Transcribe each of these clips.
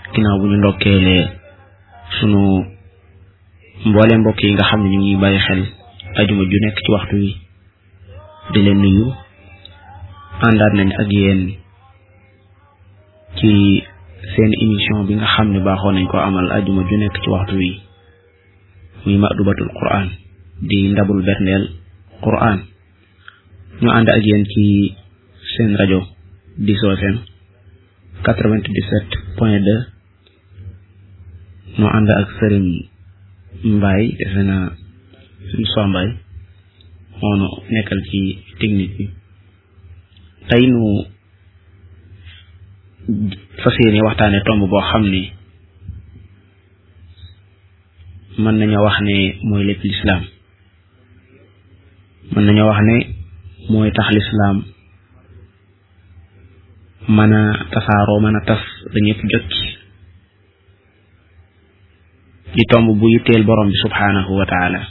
ginnaaw bu ñu ndokkeelee sunu mboole mbokk yi nga xam ne ñu ngi bàyyi xel ajuma ju nekk ci waxtu wi di leen nuyu àndaat nañ ak yéen ci seen émission bi nga xam ne baaxoo nañ ko amal ajuma ju nekk ci waxtu wi muy Ma'dubatul Qur'an di ndabul berndeel Qur'an ñu ànd ak yéen ci seen rajo Diso FM 97.2 ñu ànd ak Sëriñ Mbaye defe naa suñu soo Mbaye moonu nekkal ci technique bi tey nu fas yéene waxtaane tomb boo xam ne mën nañoo wax ne mooy lépp lislaam mën nañoo wax ne mooy tax lislaam mën a tasaaroo mën a tas ba ñëpp jot ci tomb bu yitteel borom bi subhaanahu wa taala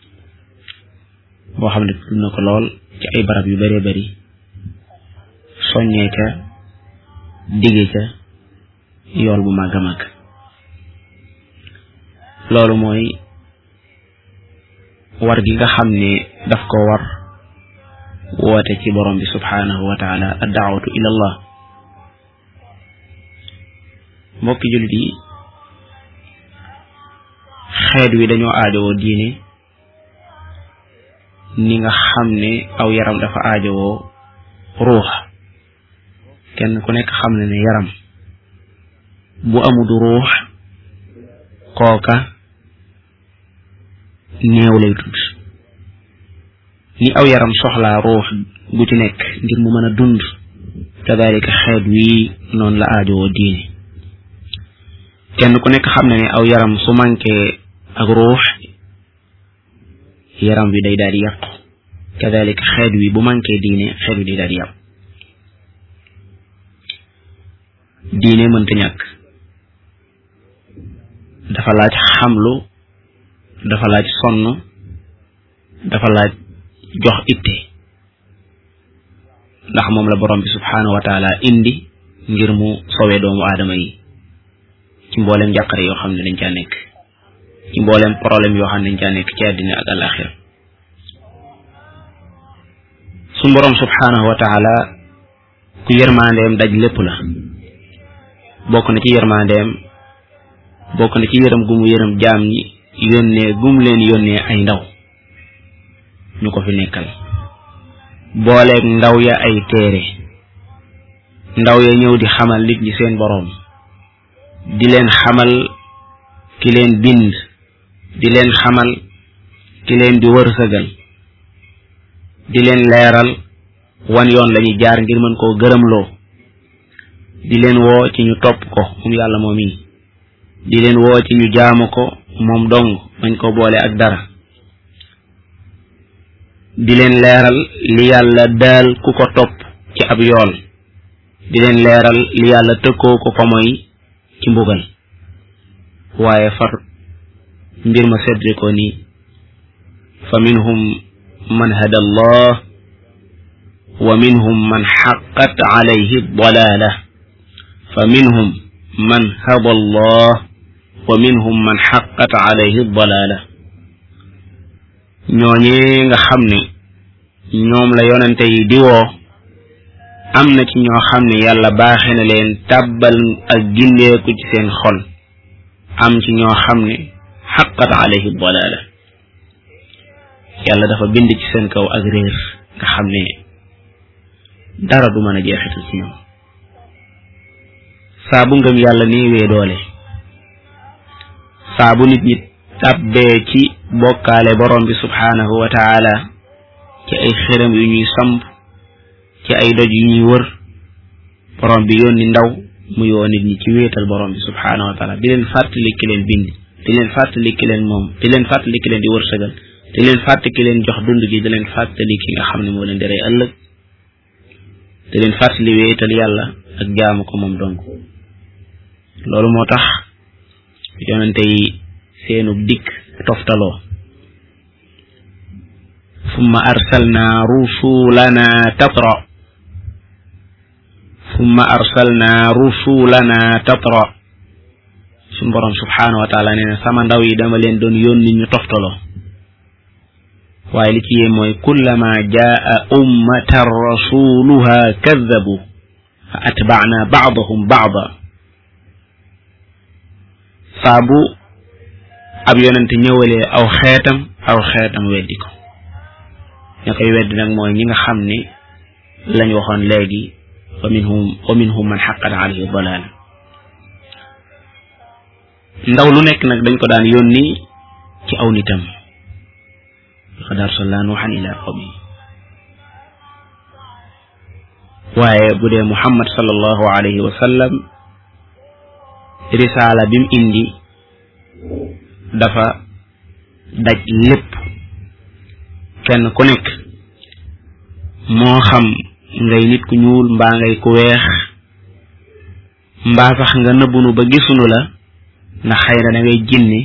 boo xam ne tudd na ko lool ci ay barab yu bëree bëri soññee ca digge ca yool bu màgg a màgg loolu mooy war gi nga xam ne daf ko war woote ci borom bi subhaanahu wa taala ad-da'watu ila Allah mbokki jullit yi xeet wi dañoo aajowoo diine ni nga xam ne aw yaram dafa aajowoo ruux kenn ku nekk xam ne yaram bu amul ruux kooka néew lay tudd ni aw yaram soxlaa ruux gu ci nekk ngir mu mën a dund kadalika xeet wi noonu la aajowoo diine kenn ku nekk xam ne aw yaram su manqué ak ruux yaram wi day daal di yàqu kadalika xeet wi bu manqué diine xeet wi day daal di yàqu diine mënta ñàkk dafa laaj xamlu dafa laaj sonn dafa laaj jox itte ndax moom la borom bi subhaanahu wa taala indi ngir mu sowee doomu aadama yi ci mboolem njàqare yoo xam ne dañ caa nekk ci mboolem problème yoo xam ne dañ caa nekk ci àddina ak alaxira su borom subhaanahu wa taala ku yërmandeem daj lépp la bokk na ci yërmandeem bokk na ci yërëm gu mu yërëm jaam ñi yónnee gum leen yónnee ay ndaw ñu ko fi nekkal booleeg ndaw ya ay téere ndaw ya ñëw di xamal nit ñi seen boroom di leen xamal ki leen bind di leen xamal ki leen di wërsëgal di leen leeral wan yoon lañuy jaar ngir mën koo gërëmloo di leen woo ci ñu topp ko moom yàlla moom yi di leen woo ci ñu jaamu ko moom dong bañ ko boole ak dara di leen leeral li yàlla daal ku ko topp ci ab yool di leen leeral li yàlla tëkkoo ko ko moy ci mbugal waaye far mbir ma sedde ko ni fa minhum man hada Allah wa minhum man haqqat alayhi ad-dalala fa minhum man hada Allah wa minhum man haqqat alayhi ad-dalala ñooñee nga xam ne ñoom la yonente yi di woo am na ci ñoo xam ne yàlla baaxe na leen tàbbal ak gindeeku ci seen xol am ci ñoo xam ne haqqat alayhi ad-dalala yàlla dafa bind ci seen kaw ak réer nga xam ne dara du mën a jeexital ci ñoom saa bu ngëm yàlla néewee doole saa bu nit ñi tàbbee ci bokkaale borom bi subhaanahu wa taala ci ay xërëm yu ñuy samp ci ay doj yu ñuy wër borom bi yónni ndaw mu yoo nit ñi ci wéetal borom bi subhaanahu wa taala di leen fàttali ki leen bind di leen fàttali ki leen moom di leen fàttali ki leen di wërsëgal di leen fàttali ki leen jox dund gi di leen fàttali ki nga xam ne moo leen di rey ëllëg di leen fàttali wéetal yàlla ak jaamu ko moom dong loolu moo tax yonente yi seenu dikk toftaloo ثم أرسلنا رسولنا تترى sun borom subhanahu wa ta'ala neena sama ndaw yi dama leen doon yónni ñu toftalo waaye li ci yee mooy kullama jaa ummatan rasuluha kadhabu fa atba'na ba'dahum ba'da saabu ab yonente ñëwalee aw xeetam weddi ko ña koy weddi nag mooy ñi nga xam ne lañ waxoon léegi wa minhum man haqqat alayhi dalal ndaw lu nekk nag dañ ko daan yónni ci aw nitam laqad arsalna nuuhan ila qawmi waaye bu dee Muhammad sallallahu alayhi wa sallam risaala bim indi dafa daj lépp kenn ku nekk moo xam ngay nit ku ñuul mbaa ngay ku weex mbaa sax nga nëbbunu ba gisunu la ndax xëy na da ngay jinni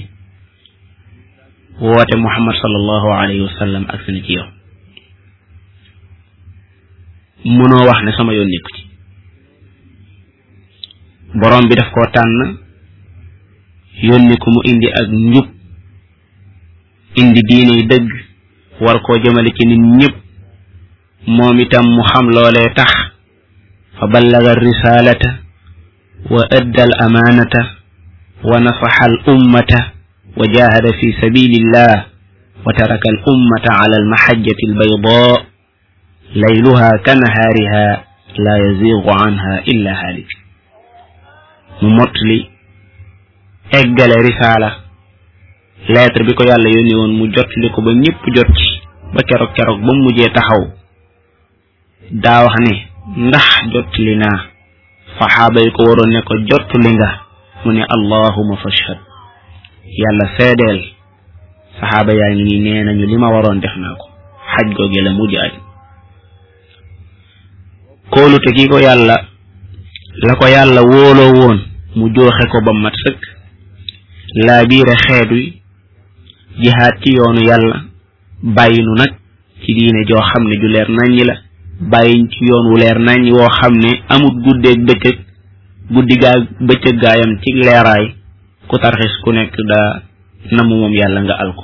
woote Muhammad sallallahu alayhi wa sallam ak seen ci yow mënoo wax ne sama yoon nekku ci borom bi daf koo tànn yónni ko mu indi ak njub indi diine yi dëgg war koo jëmale ci nit ñëpp moom itam mu xam loolee tax fa ballaga risalata wa adda al amanata wa nasaha al ummata wa jahada fi sabilillah wa taraka al ummata ala al mahajjati al bayda layluha kanahariha la yazighu anha illa halik mu motli eggale risala lettre bi ko yàlla yónni woon mu jotli ko ba ñëpp jot ci ba keroog ba mujjee taxaw daa wax ne ndax jotli naa saxaaba yi ko waroon ne ko jotli nga mu ne allahumma fashhad yàlla seedeel saxaaba yaa ngi nii nee nañu li ma waroon def naa ko xaj googe la mujj aj kóolute gi ko yàlla la ko yàlla wóoloo woon mu jooxe ko ba mat sëkk laa biire xeet wi jihaad ci yoonu yàlla bàyyi nu nag ci diine joo xam ne ju leer naññi la bàyyiñ ci yoon wu leer naññi woo xam ne amut guddeeg bëccëg guddi gaa bëccëg gaayam ci leeraay ku tarxis ku nekk daa namu moom yàlla nga al ko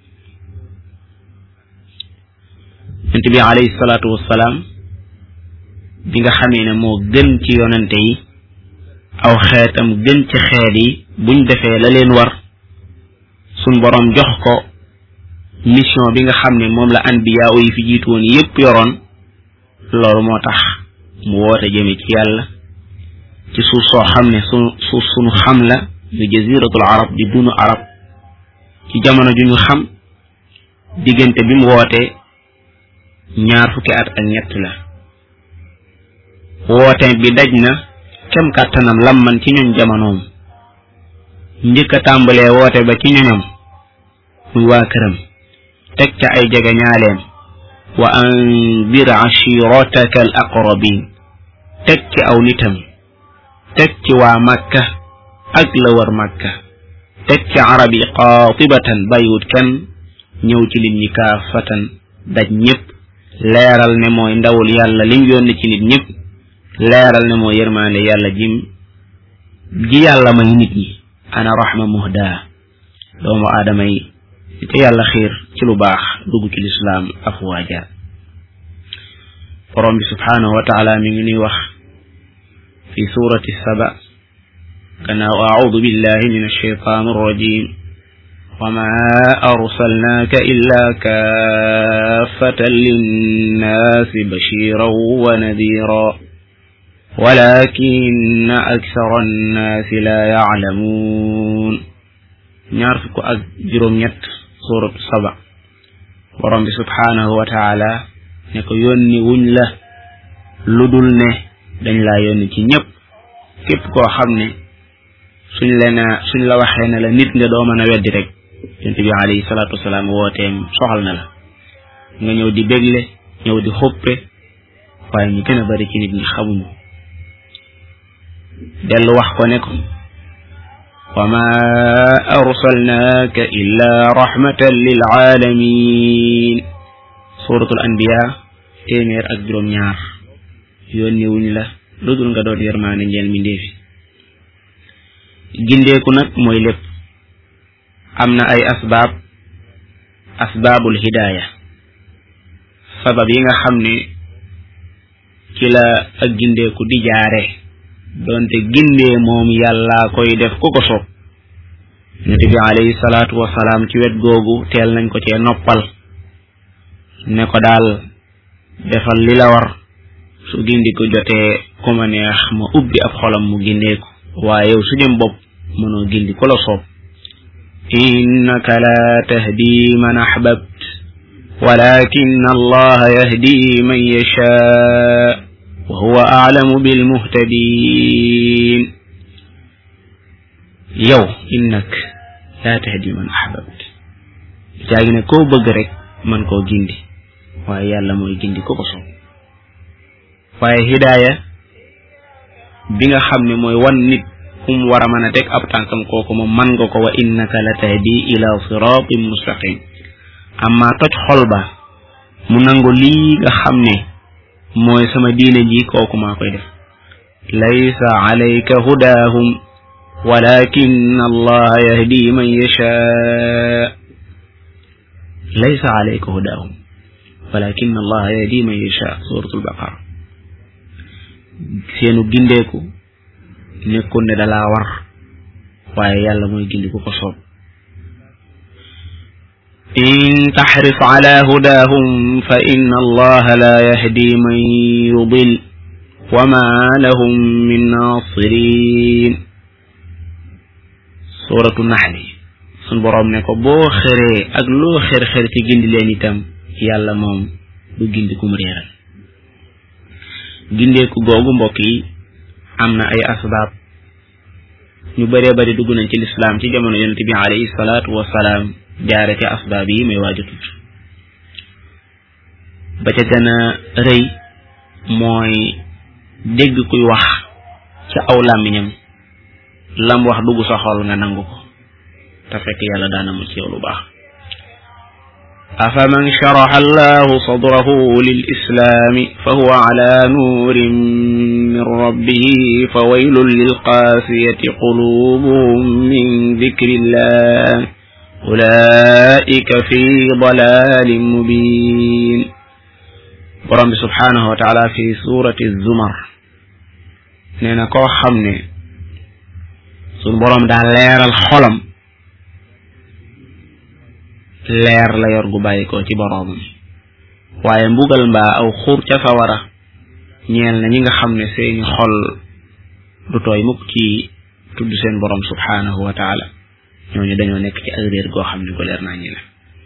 yonent bi alayhi salaatu wassalaam bi nga xamee ne moo gën ci yonente yi aw xeetam gën ci xeet yi buñ defee la leen war sun borom jox ko mission bi nga xam ne moom la anbiya yi fi jiitu woon yépp yoroon loolu moo tax mu woote jëme ci yàlla ci suuf soo xam ne suuf sunu xam la ñu jaziratul arab di dunu arab ci jamono ju ñu xam diggante bi mu woote 20 at ak ñett la woote bi daj na kem kàttanam lamman ci ñun jamonoom njëkk a tàmbalee woote ba ci ñoñam muy waa këram teg ca ay jege ñaaleem wa anzir ashirataka al aqrabin teg ci aw nitam teg ci waa makka ak la war makka teg ci arab yi qaatibatan bàyyiwut kenn ñëw ci nit ñi kaafatan daj ñëpp leeral ne mooy ndawul yàlla lim yónni ci nit ñëpp leeral ne mooy yërmaande yàlla ji yàlla may nit ñi ana rahma muhda doomu aadama yi te yàlla xiir ci lu baax dugg ci lislaam afwaaja borom bi subhanahu wa taala mi ngi nuy wax fi surati saba gannaaw a'udhu billahi min ash-shaytan ar-rajim وما أرسلناك إلا كافة للناس بشيرا ونذيرا ولكن أكثر الناس لا يعلمون نعرفك أجرم يت سورة سبع ورب سبحانه وتعالى نكو يوني ونلا لدل نه دن لا يوني ci ñep kep ko xamne suñ la waxé na la nit nga do mëna wéddi rek yonent bi alayhi salatu wassalam wooteem soxal na la nga ñëw di bégle ñëw di xoppe waaye ñu gën a bari ci nit ñi xamuñu dellu wax ko ne ko wa ma arsalnaaka illa rahmatan lil alamin suratul anbiya téeméer ak juróom ñaar yónni wuñ la lu dul nga doon yërmaane njeel mi ndeefi gindeeku nag mooy lépp am na ay asbaabul hidaaya sabab yi nga xam ne ci la ak gindeeku di jaare doonte gindee moom yàlla koy def ku ko soob Yonent bi alayhi salaatu wasalaam ci wet googu teel nañ ko cee noppal ne ko daal defal li la war su gindiku jotee ku ma neex ma ubbi ab xolam mu gindeeku waaye yow su jëm bopp mënoo gindi ku la soob innaka la tahdi man ahbabt walakin allaha yahdi man yashaa wa huwa a'lamu bil muhtadin yow innak la tahdi man ahbabt jaagi ne koo bëgg rek man koo gindi waaye yàlla mooy gindi ko ko soob waaye hidaaya bi nga xam ne mooy wan nit kum war a mën a teg ab tànkam kooku moom man nga ko wa innaka la tahdi ila siratin mustaqim amma toj xol ba mu nangu lii nga xam ne mooy sama diine ji kooku maa koy def laysa alayka hudaahum walakin allah yahdi man yasha laysa alayka hudaahum walakin allah yahdi man yasha suratul baqara seenu gindeeku nekkul ne dalaa war waaye yàlla mooy gindi ku ko soob in taxris ala hudaahum fa inna allaha la yahdi man yudil wa ma lahum min nasirin suratu naxli sun boroom ne ko boo xëree ak loo xër ci gindi leen itam yàlla moom du gindi kum réeral gindeeku googu mbokk yi am na ay asbaab ñu bëree bëri dugg nañ ci lislaam ci jamono Yonent bi alayhi salaatu wasalaam jaare ci asbaab yi may waaju tudd ba ca gën a rëy mooy dégg kuy wax ca aw làmmiñam lam wax dugg sa xol nga nangu ko te fekk yàlla daana mu ci yow lu baax afaman sharaha allahu sadrahu lil islami fa huwa ala nuurin min rabbihi fa waylun lil qaasiyati qulubuhum min dhikrillah ulaika fi dalalin mubin borom bi subhanahu wa taala fi surati zumar nee na koo xam ne sun borom daa leeral xolam leer la yor gu bàyyi ko ci boroomam waaye mbugal mbaa aw xur ca sawara ñeel na ñi nga xam ne seeni xol du tooy mukk ci tudd seen borom subhanahu wa taala ñooñu dañoo nekk ci ak réer goo xam ne ko leer naa ñi la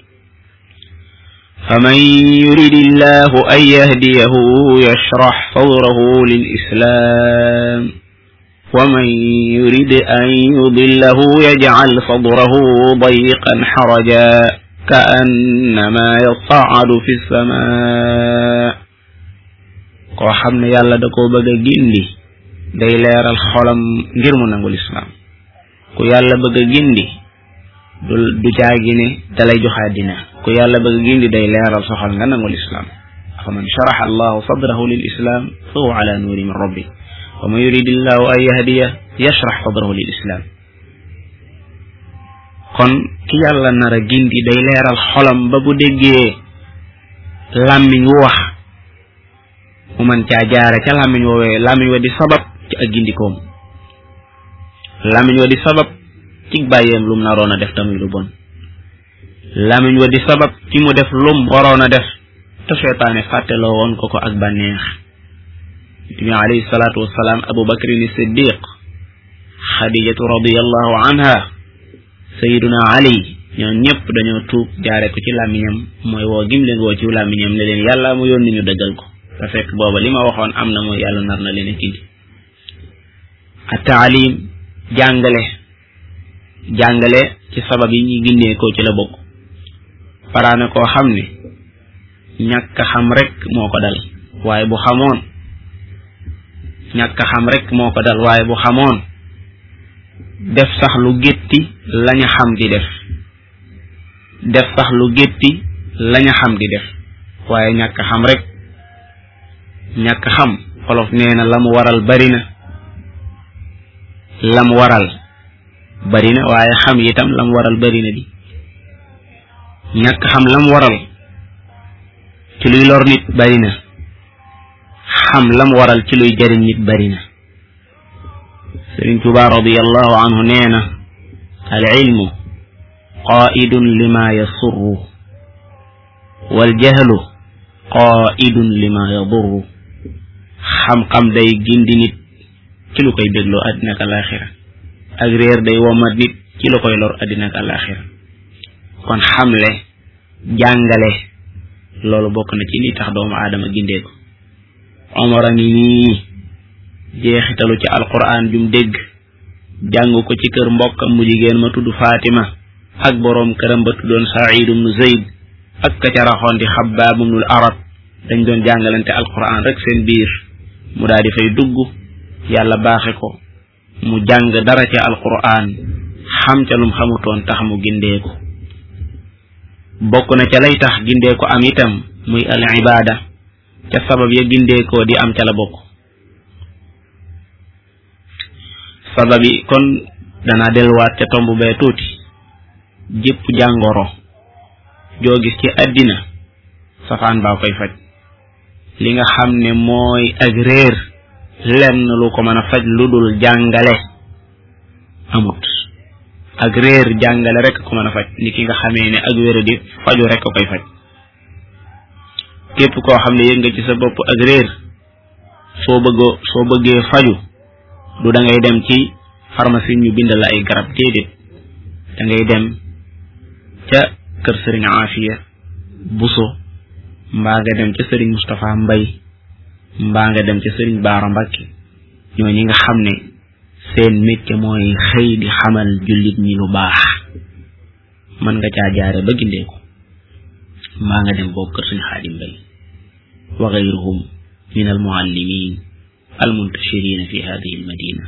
faman yuridi llahu an yahdiyahu yashrax sadrahu lil islam wa man yurid an yudillahu yajcal sadrahu dayqan xaraja ka annama yas'adu fi samaa koo xam ne yàlla da koo bëgg a gindi day leeral xolam ngir mu nangul islaam ku yàlla bëgg a gindi du caagi ne dalay joxaa dina ku yàlla bëgg a gindi day leeral sa xol nga nangul islaam faman sharaxa allahu sadrahu lil islam fa huwa ala nuuri min rabbi wa man yuridi llahu an yahdiya yashrax sadrahu lil islam kon ki yàlla nar a gindi day leeral xolam ba bu déggee làmmiñ wu wax mu man caa jaare ca làmmiñ woowee làmmiñ wa di sabab ci ak gindikoom làmmiñ wa di sabab ci bàyyeem lum naroon a def tamuy lu bon làmmiñ wa di sabab ci mu def lum waroon a def te seytaane fàtteloo woon ko ak bànneex bi alayhi salaatu wassalaam Abu Bakrin Siddiq Xadijatu radiyallahu anha Sayyiduna Ali ñoo ñëpp dañoo tuub jaare ko ci làmmiñam mooy woo gim leen woo ci làmmiñam ne leen yàlla mu yónni ñu dëggal ko te fekk booba li ma waxoon am na mooy yàlla nar na leen a gindi at-taalim jàngale ci sabab yi ñuy gindee ko ci la bokk paraane koo xam ne ñàkk xam rek moo ko dal waaye bu xamoon ñàkk xam rek moo ko dal waaye bu xamoon def sax lu gétti laña xam di def sax lu gétti laña xam di def waaye ñàkk xam rek ñàkk xam xolof nee na la mu waral bari na la mu waral bari na waaye xam itam lam waral bari na di ñàkk xam lam waral ci luy lor nit bari na xam lam waral ci luy jariñ nit bari na Sëriñ Tuubaa radiyallahu anhu nee na al ilmu qaa'idun lima yasurru wal jahlu qaa'idun lima yadurru xam-xam day gindi nit ci lu koy bégloo àddina ak alaaxira ak réer day womat nit ci lu koy lor àddina ak alaaxira kon xamle jàngale loolu bokk na ci li tax doomu aadama gindee ko Omar a ngi nii jeexitalu ci alquran jum dégg jàng ko ci kër mbokkam mu jigéen ma tudd Fatima ak boroom këram ba tuddoon Saïd ibnu Zayd ak ka ca raxoon di Xabbaab ibnul Arat dañ doon jàngalante alquran rek seen biir mu daal di fay dugg yàlla baaxe ko mu jàng dara ci alquran xam ca lum xamutoon tax mu gindee ko bokk na ca lay tax gindee ko am itam muy al ibaada ca sabab ya gindee ko di am ca la bokk sabab yi kon danaa delluwaat ca tomb bee tuuti jëpp jàngoro joo gis ci àddina safaan baa koy faj li nga xam ne mooy ak réer lenn lu ko mën a faj lu dul jàngale amut ak réer jàngale rek ko mën a faj ni ki nga xamee ne ak wéra di faju rek koy faj képp koo xam ne yëg nga ci sa bopp ak réer soo bëggee faju du da ngay dem ci pharmacie ñu bindal la ay garab déedéet da ngay dem ca kër sëriñ Afiya Buso mbaa nga dem ca sëriñ Moustapha Mbay mbaa nga dem ca sëriñ Baara Mbàkke ñoo ñi nga xam ne seen métier mooy xëy di xamal jullit ñi lu baax mën nga caa jaare ba gindeeku mbaa nga dem boobu kër sëriñ Xaadim Mbay wa gayruhum min al muallimin al muntashirina fi hadihi al madina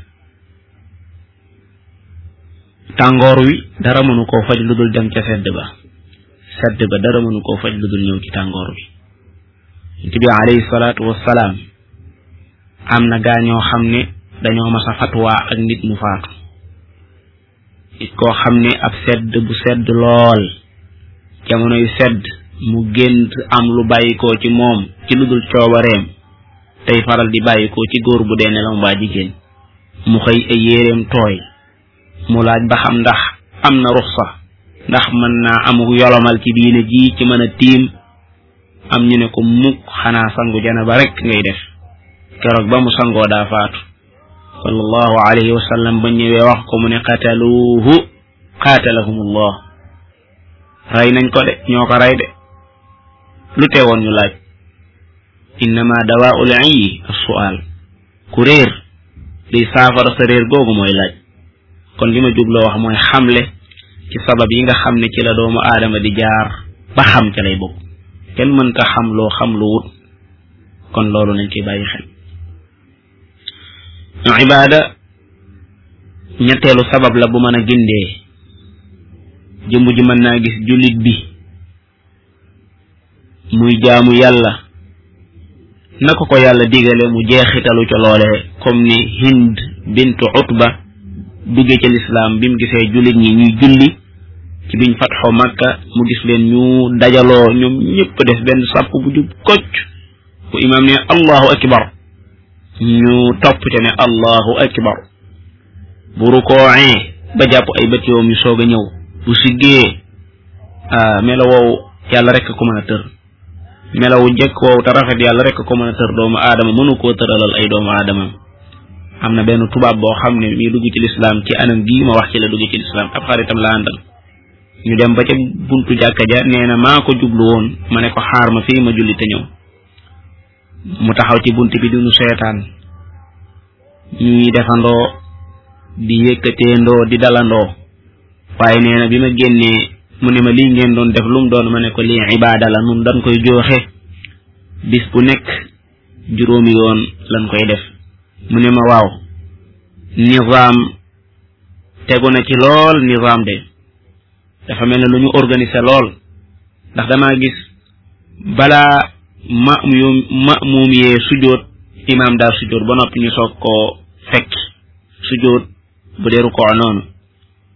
tàngoor wi dara mënu koo faj lu dul dem ca sedd ba dara mënu koo faj lu dul ñëw ci tàngoor bi Yonent bi alayhi salaatu wassalaam am na gaa ñoo xam ne dañoo mas a fatwaa ak nit mu faatu nit koo xam ne ab sedd bu sedd lool jamono yu sedd mu gént am lu bàyyikoo ci moom ci lu dul coobareem tey faral di bàyyikoo ci góor bu dee nelaw mbaa jigéen mu xëy ay yéreem tooy mu laaj ba xam ndax am na ruxsa ndax mën naa amuk yolomal ci diine ji ci mën a tiim am ñu ne ko mukk xanaa sangu janaba rek ngay def keroog ba mu sangoo daa faatu sallallahu alayhi wa sallam ba ñëwee wax ko mu ne qataluuhu qatalahumullah rey nañ ko de ñoo ko rey de lu teewoon ñu laaj innama dawaa'ul ayyi as-su'al ku réer liy saafara sa réer googu mooy laaj kon li ma jubloo wax mooy xamle ci sabab yi nga xam ne ci la doomu aadama di jaar ba xam ca lay bokk kenn mënta xam loo xam lu wut kon loolu nañ koy bàyyi xel ibaada ñetteelu sabab la bu mën a gindee jëmb ji mën naa gis jullit bi muy jaamu yàlla naka ko yàlla digale mu jeexitalu ca loole comme ni Hind bintu Utba dugge ca lislaam bi mu gisee jullit ñi ñuy julli ci biñ fatxoo Makka mu gis leen ñu dajaloo ñoom ñëpp def benn sàpp bu jub kocc bu imaam ne allahu akbar ñu topp ca ne allahu akbar bu rukooee ba jàpp ay bët yoom yu soog a ñëw bu siggee melo woowu yàlla rek ko mën a tër melawu jekk woowu te rafet yàlla rek ko mën a tër doomu aadama mënu koo tëralal ay doomu aadama am na benn tubaab boo xam ne mi dugg ci lislaam ci anam gii ma wax ci la dugg ci lislaam ab xaritam la àndal ñu dem ba ca buntu jàkka ja nee na maa ko jublu woon ma ne ko xaar ma fii ma julli te ñëw mu taxaw ci bunt bi duñu seetaan ñuy defandoo di yëkkateendoo di dalandoo waaye nee na bi ma génnee mu ne ma lii ngeen doon def lu mu doon ma ne ko lii ibaada la nun dañ koy jooxe bis bu nekk juróomi yoon lañ koy def mu ne ma waaw nizaam tegu na ci lool nizaam de dafa mel ne lu ñu organiser lool ndax damaa gis balaa ma'muum yee sujoot imaam daa sujoot ba noppi ñu soog koo fekk sujoot bu dee rukoo noonu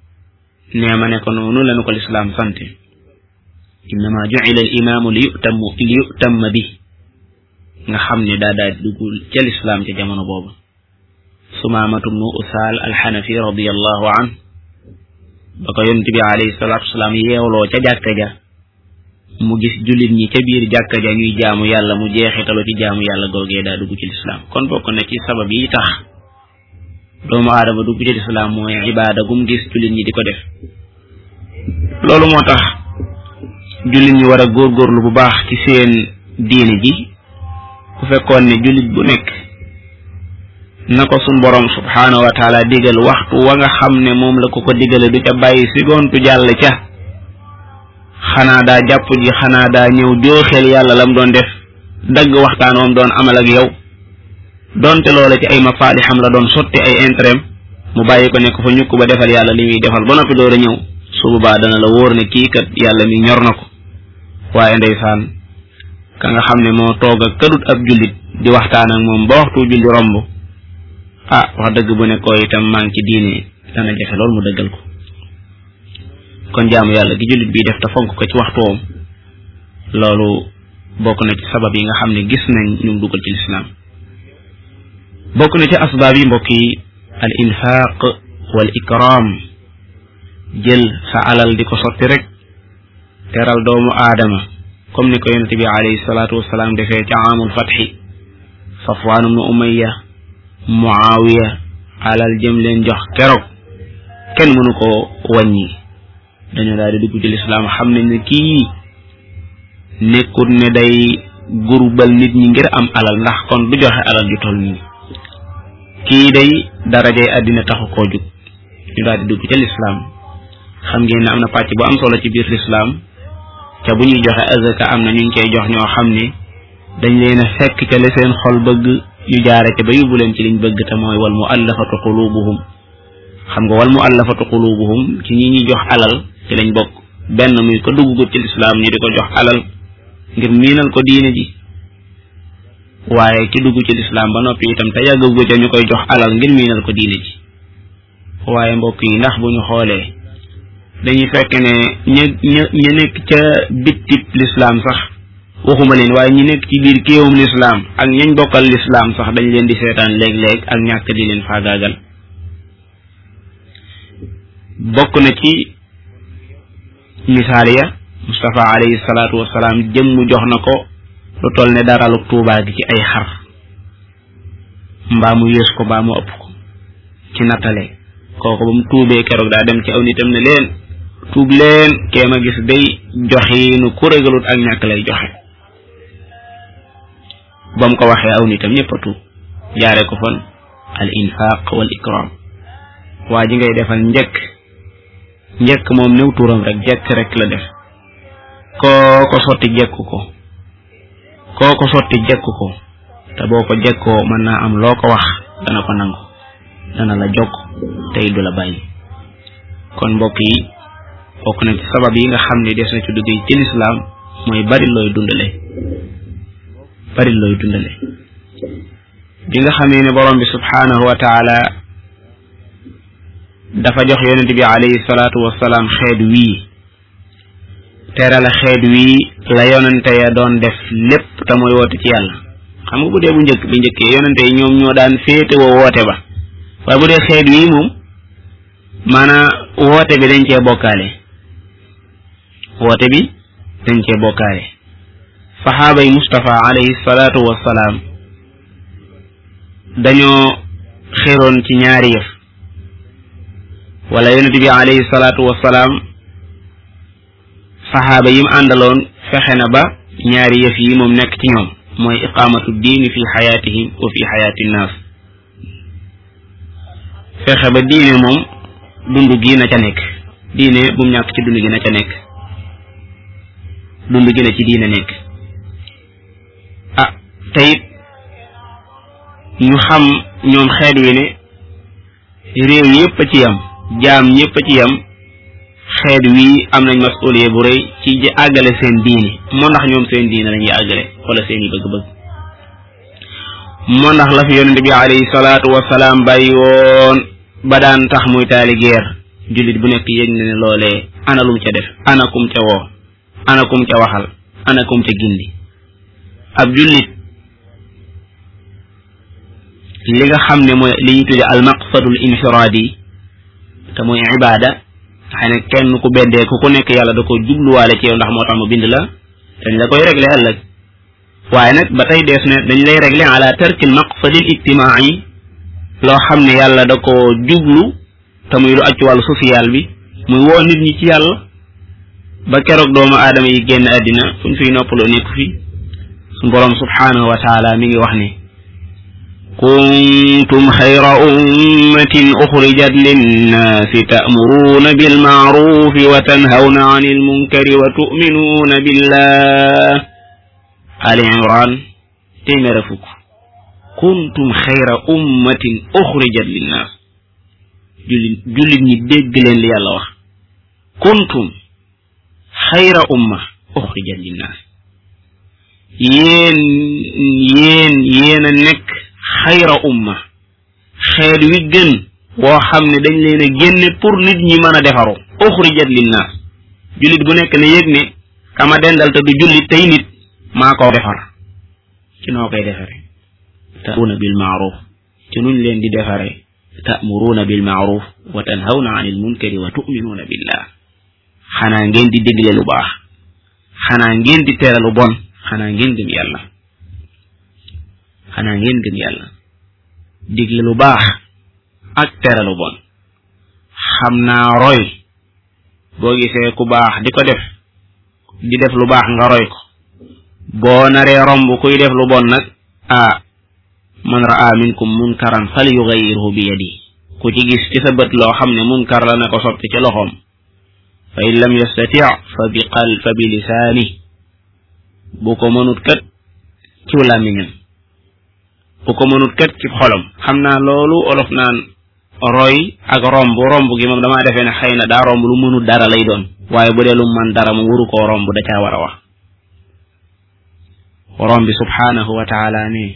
nee ma ne ko noonu lañu ko lislaam sante innama ju'ila al imaamu li yu'tamma bi nga xam ne daa dugg ca lislaam ca jamono boobu. Sumaamatu bnu Usaal alxanafi radiyallahu an ba ko yonent bi alayhi salaatu wasalaam yeewloo ca jàkka ja mu gis jullit ñi ca biir jàkka ja ñuy jaamu yàlla mu jeexitalu ci jaamu yàlla googee daa dugg ci lislaam. kon bokk na ci sabab yi tax doomu aadama dugg ci lislaam mooy ibaada gum gis jullit ñi di ko def. loolu moo tax jullit ñi war a góorgóorlu bu baax ci seen diine ji. ku fekkoon ne jullit bu nekk na ko sun borom subhaanahu wa taala digal waxtu wa nga xam ne moom la ko digale du ca bàyyi sigontu jàll ca xanaa daa jàpp ji xanaa daa ñëw jooxeel yàlla lam doon def dagg waxtaan wam doon amal ak yow donte loola ci ay mafaalixam la doon sotti ay intérêt mu bàyyi ko nekk fa ñukk ba defal yàlla li muy defal ba noppi door a ñëw su boobaa dana la wóor ne kii kat yàlla mi ñor na ko. waaye ndeysaan ka nga xam ne moo toog ak kadut ab jullit di waxtaan ak moom ba waxtu julli romb wax dëgg bu ne ko itam maa ngi ci diine dana jafe lool mu dëggal ko. kon jaamu yàlla gi jullit bi def te fonk ko ci waxtoom loolu bokk na ci sabab yi nga xam ne gis nañ ñu dugal ci lislaam. bokk na ci asbaab yi mbokk yi al infaq wal ikram jël sa alal di ko sotti rek teral doomu aadama comme ni ko yonent bi alayhi salaatu wasalaam defee ca amul fatxi Safwaan ibnu Umayya Muawiya alal jëm leen jox keroog kenn mënu ko wàññi. dañu daal di dugg ci lislaam xam nañ ne kii nekkul ne day gurbal nit ñi ngir am alal ndax kon du joxe alal ju toll nii. kii day darajay àddina taxu koo jug ñu daal di dugg ca lislaam. xam ngeen ne am na pàcc bu am solo ci biir lislaam ca bu ñuy joxe azaka am na ñu koy jox ñoo xam ne dañ leen a fekk ca la seen xol bëgg ñu jaare ca ba yóbbu leen ci liñ bëgg te mooy wal muallafatu qulubuhum. xam nga wal muallafatu qulubuhum ci ñi ñuy jox alal ci lañ bokk. benn muy ko duggugut ci lislaam ñu di ko jox alal ngir miinal ko diine ji waaye ki dugg ci lislaam ba noppi itam te yàggagu ca ñu koy jox alal ngir miinal ko diine ji. waaye mbokk yi ndax bu ñu xoolee dañuy fekk ne ña nekk ca bittib lislaam sax waxuma leen waaye ñi nekk ci biir kéewum lislaam ak ñañ bokkal lislaam sax dañ leen di seetaan léeg-léeg ak ñàkk di leen faagaagal. bokk na ci misaal ya Mustafa alayhi salaatu wasalaam jëmm jox na ko lu toll ne daralu tuubaa gi ci ay xar mbaa mu yées ko mbaa mu ëpp ko ci nattale. kooku ba mu tuubee keroog daa dem ci aw nitam ne leen tuub leen kee ma gis day joxiinu ku régalut ak ñàkk lay joxe. ba mu ko waxee aw nitam ñëpp a tuub jaare ko fan al infaq wal ikram. waa ji ngay defal njëkk moom néew tuuram rek jekk rek la def. kooko sotti jekku ko te boo ko jekkoo mën naa am loo ko wax dana ko nangu dana la jokk tey du la bàyyi. kon mbokk yi bokk na ci sabab yi nga xam ne des na ci dugg ci lislaam mooy bari looy dundale. bi nga xamee ne borom bi subhaanahu wa taala dafa jox yonent bi alayhi salaatu wasalaam xeet wii terale xeet wii la yonente ya doon def lépp te mooy woote ci yàlla. xam nga bu dee bu njëkkee yonente yi ñoom ñoo daan féete woo woote ba waaye bu dee xeet wii moom maanaam woote bi dañ cee bokkaale. saxaaba yi Mustafa alayhi salaatu wasalaam dañoo xeroon ci ñaari yëf wala yonent bi alayhi salaatu wasalaam saxaaba yim àndaloon fexe na ba ñaari yëf yi moom nekk ci ñoom mooy iqaamatu diini fi xayaatihim wa fi xayaati nnaas. fexe ba diine moom dund gi na ca nekk diine bu mu ñàkk ci dund gi na ca nekk dund gi na ci diine nekk. teyit ñu xam ñoom xeet wi ne réew yépp a ci yam jaam ñépp a ci yam xeet wi am nañ masuliya bu rëy ci àggale seen diine. moo ndax ñoom seen diine lañuy àggale wala seen i bëgg-bëgg. moo ndax la fi yonente bi alayhi salaatu wasalaam bàyyi woon ba daan tax muy taali guerre jullit bu nekk yëg na ne loolee ana lum ca def, ana kum ca woo, ana kum ca waxal, ana kum ca gindi. ab jullit li nga xam ne mooy li ñuy tudde al maqsadul infiraadi te mooy ibaada xëy na kenn ku beddee ku nekk yàlla da ko jubluwaale ci yow ndax moo tax mu bind la dañ la koy régler ëllëg. waaye nag ba tey dees ne dañ lay régler ala tarkil maqsadil ijtimaai loo xam ne yàlla da ko jublu te muy lu aj ci wàllu social bi muy woo nit ñi ci yàlla ba keroog doomu aadama yi génn àddina fuñ fiy noppaloo nekku fi. suñ boroom subhanahu wa taala mi ngi wax ne kuntum xayra ummatin uxrijat linnaasi ta'muruuna bilma'ruufi wa tanhawna anil munkari wa tu'minuuna billah. Ali Imran téeméer fukk. kuntum xayra ummatin uxrijat linnaas. jullit ñi dégg leen li yàlla wax. kuntum xayra umma uxrijat linnaas. yéen a nekk xayra umma xeet wi gën woo xam ne dañ leen a génne pour nit ñi mën a defaru uxrijat linnaas. jullit bu nekk ne yëg ne kama dendal te du jullit tey nit maa ko defar ci noo koy defare ta'muruuna bil ma'ruf ci nuñ leen di defare ta'muruuna bil ma'ruf wa tanhawna 'anil munkari wa tu'minuuna billah. xanaa ngeen di dégle lu baax, xanaa ngeen di tere lu bon, xanaa ngeen gëm yàlla, xanaa ngeen gëm yàlla. digle lu baax ak tere lu bon. xam naa roy boo gisee ku baax di ko def di def lu baax nga roy ko. boo naree romb kuy def lu bon nag man ra'a minkum munkaran falyughayyirhu bi yadihi. ku ci gis ci sa bët loo xam ne munkar la na ko soppi ci loxoom. fa in lam yastati' fa bi lisaanihi. bu ko mënut kat ci làmmiñam, bu ko mënut kat ci xolam. xam naa loolu olof naan roy ak romb gi moom damaa defee ne xëy na daa romb lu mënut dara lay doon, waaye bu dee lu man dara mu waru koo romb da caa war a wax. borom bi subhanahu wa taala ne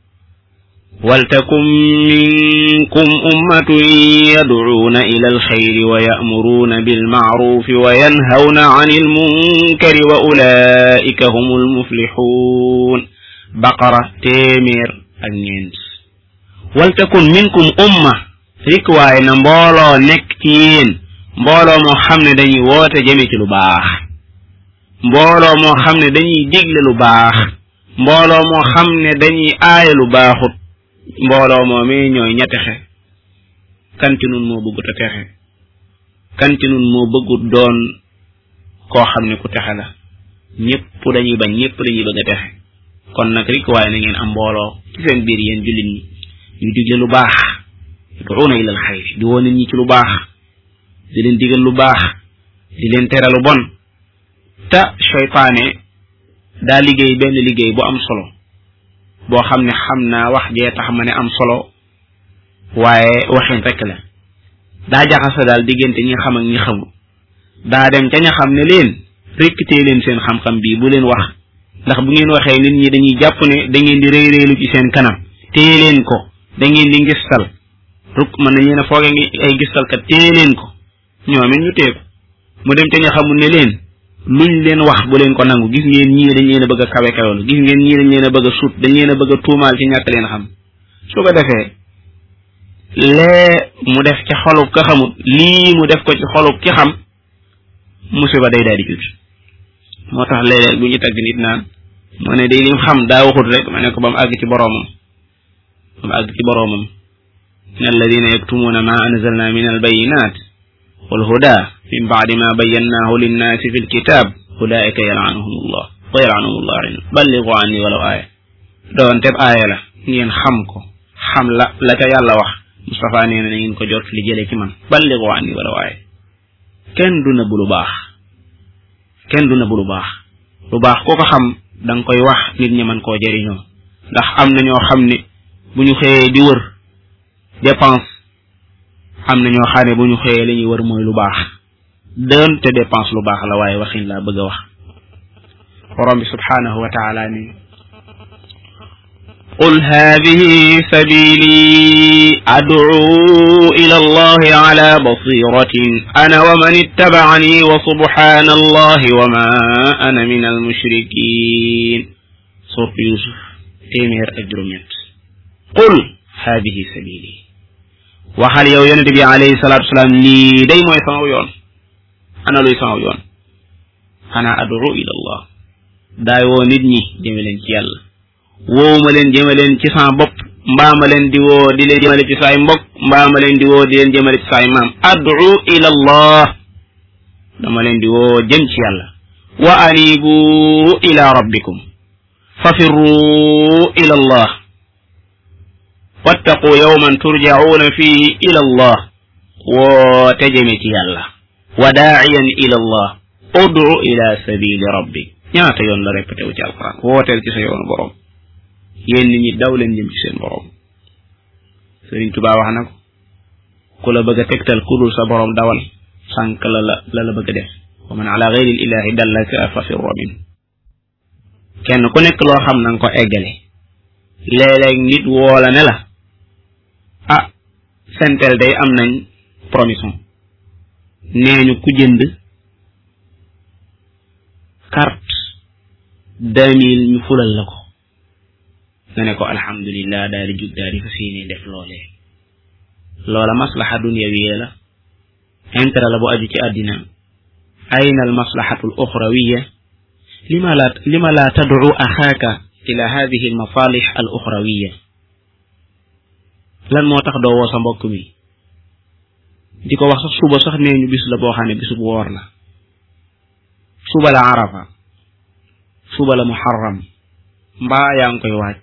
waltakum minkum ummatun yad'uuna ila alxayri wa ya'muruuna bilma'rufi wa yanhawna 'anil munkari wa ulaa'ika humul muflixuun. baqara téeméer ak ñeent. waltakun minkum umma rik waaye na mbooloo nekk ci yéen, mbooloo moo xam ne dañuy woote jëme ci lu baax, mbooloo moo xam ne dañuy digle lu baax, mbooloo moo xam ne dañuy aaye lu baaxut. mbooloo moo mi ñooy ña texe. kan ci nun moo bëggut a texe? kan ci nun moo bëggut doon koo xam ne ku texe la? ñëpp dañuy bañ, ñëpp dañuy bëgg a texe. kon nag rik waaye na ngeen am mbooloo ci seen biir yéen jullit ñi yu digle lu baax, yad'uuna ilal xayri, di woo nit ñi ci lu baax, di leen digal lu baax, di leen tere lu bon. te seytaane daa liggéey benn liggéey bu am solo boo xam ne xam naa wax jee tax ma ne am solo, waaye waxin rek la. daa jaxasa daal diggante ñi xam ak ñi xamul. daa dem ca ña xam ne leen rekk tee leen seen xam-xam bii bu leen wax, ndax bu ngeen waxee nit ñi dañuy jàpp ne da ngeen di rëy rëylu ci seen kanam. téye leen ko, da ngeen di ngistal ruk mën nañu ne fooge ngi ay ngistalkat. téye leen ko, ñoom it ñu téye ko. mu dem ca ña xamul ne leen luñ leen wax bu leen ko nangu. gis ngeen ñii dañ leen a bëgg a kawe kawelu, gis ngeen ñii dañ leen a bëgg a sut, dañ leen a bëgg a tuumaal ci ñàkk leen xam. su ko defee lee mu def ci xolub ka xamut, lii mu def ko ci xolub ki xam, musiba day daal di jut. moo tax léeg-léeg bu ñu tagg nit naan moo ne day lim xam daa waxut rek ma ne ko ba mu àgg ci boroomam, ba mu àgg ci boroomam. in alladina yaktumuuna ma anzalna min albayinat wal huda min ba'di ma bayyannaahu linnaasi fi lkitab ulaika yal'anuhumullah wa yal'anuhumullah ballighu anni walaw aaya. doon teb aaya la ngeen xam ko, xam la ca yàlla wax. Mustafa nee na ngeen ko jot li jëlee ci man, ballighu anni walaw aaya. kenn du nëbb lu baax, kenn du nëbb lu baax. lu baax koo ko xam da nga koy wax nit ñi mën koo jëriñoo. ndax am na ñoo xam ne bu ñu xëyee di wër dépense, am na ñoo xam ne bu ñu xëyee li ñuy wër mooy lu baax. doonte dépense lu baax la waaye waxin laa bëgg a wax. borom bi subhanahu wa taala ni قل هذه سبيلي أدعو إلى الله على بصيرة أنا ومن اتبعني وسبحان الله وما أنا من المشركين سورة يوسف téeméer ak juróom-ñett qul haadihi sabili waxal yow yonent bi alayhi salaatu wasalaam lii day mooy sama yoon ana luy sama yoon ana ad'u ila allah daay woo nit ñi jëme leen ci yàlla woowuma leen jëme leen ci sama bopp mbaa ma leen di woo di leen jëmale ci saay mbokk mbaa ma leen di woo di leen jëmale ci saay maam ad'u ila allah dama leen di woo jëm ci yàlla wa anibu ila rabbikum fafirru ila allah wattaqu yawman turja'una fihi ila allah woote jëme ci yàlla wa daa'iyan ila allah ud'u ila sabili rabbik ñaata yoon la répété wu ci alquran wooteel ci sa yoonu borom yéen nit ñi daw leen jëm ci seen borom Sëriñ Tuubaa wax na ko ku la bëgg a tegtal ku dul sa borom dawal sànq la bëgg a def wa man ala ghayri ilahi dallaka fafirru min kenn ku nekk loo xam na nga ko eggale léeg-léeg nit woola ne la ah sentel day am nañ promission nee ñu ku jënd carte 2000 ñu fulal la ko nga ne ko alhamdulillah daal di jug daal di fas yéene def loolee loola maslaha dunyawiyya la intérêt la bu aju ci àddina ayna al maslahatu al uxrawiyya lima la tad'u axaaka ila hadihi al masalih al uxrawiyya lan moo tax doo woo sa mbokk mi di ko wax sax suba sax nee ñu bis la boo xam ne bisu bu woor la suba la arafa suba la muharram mbaa yaa ngi koy waaj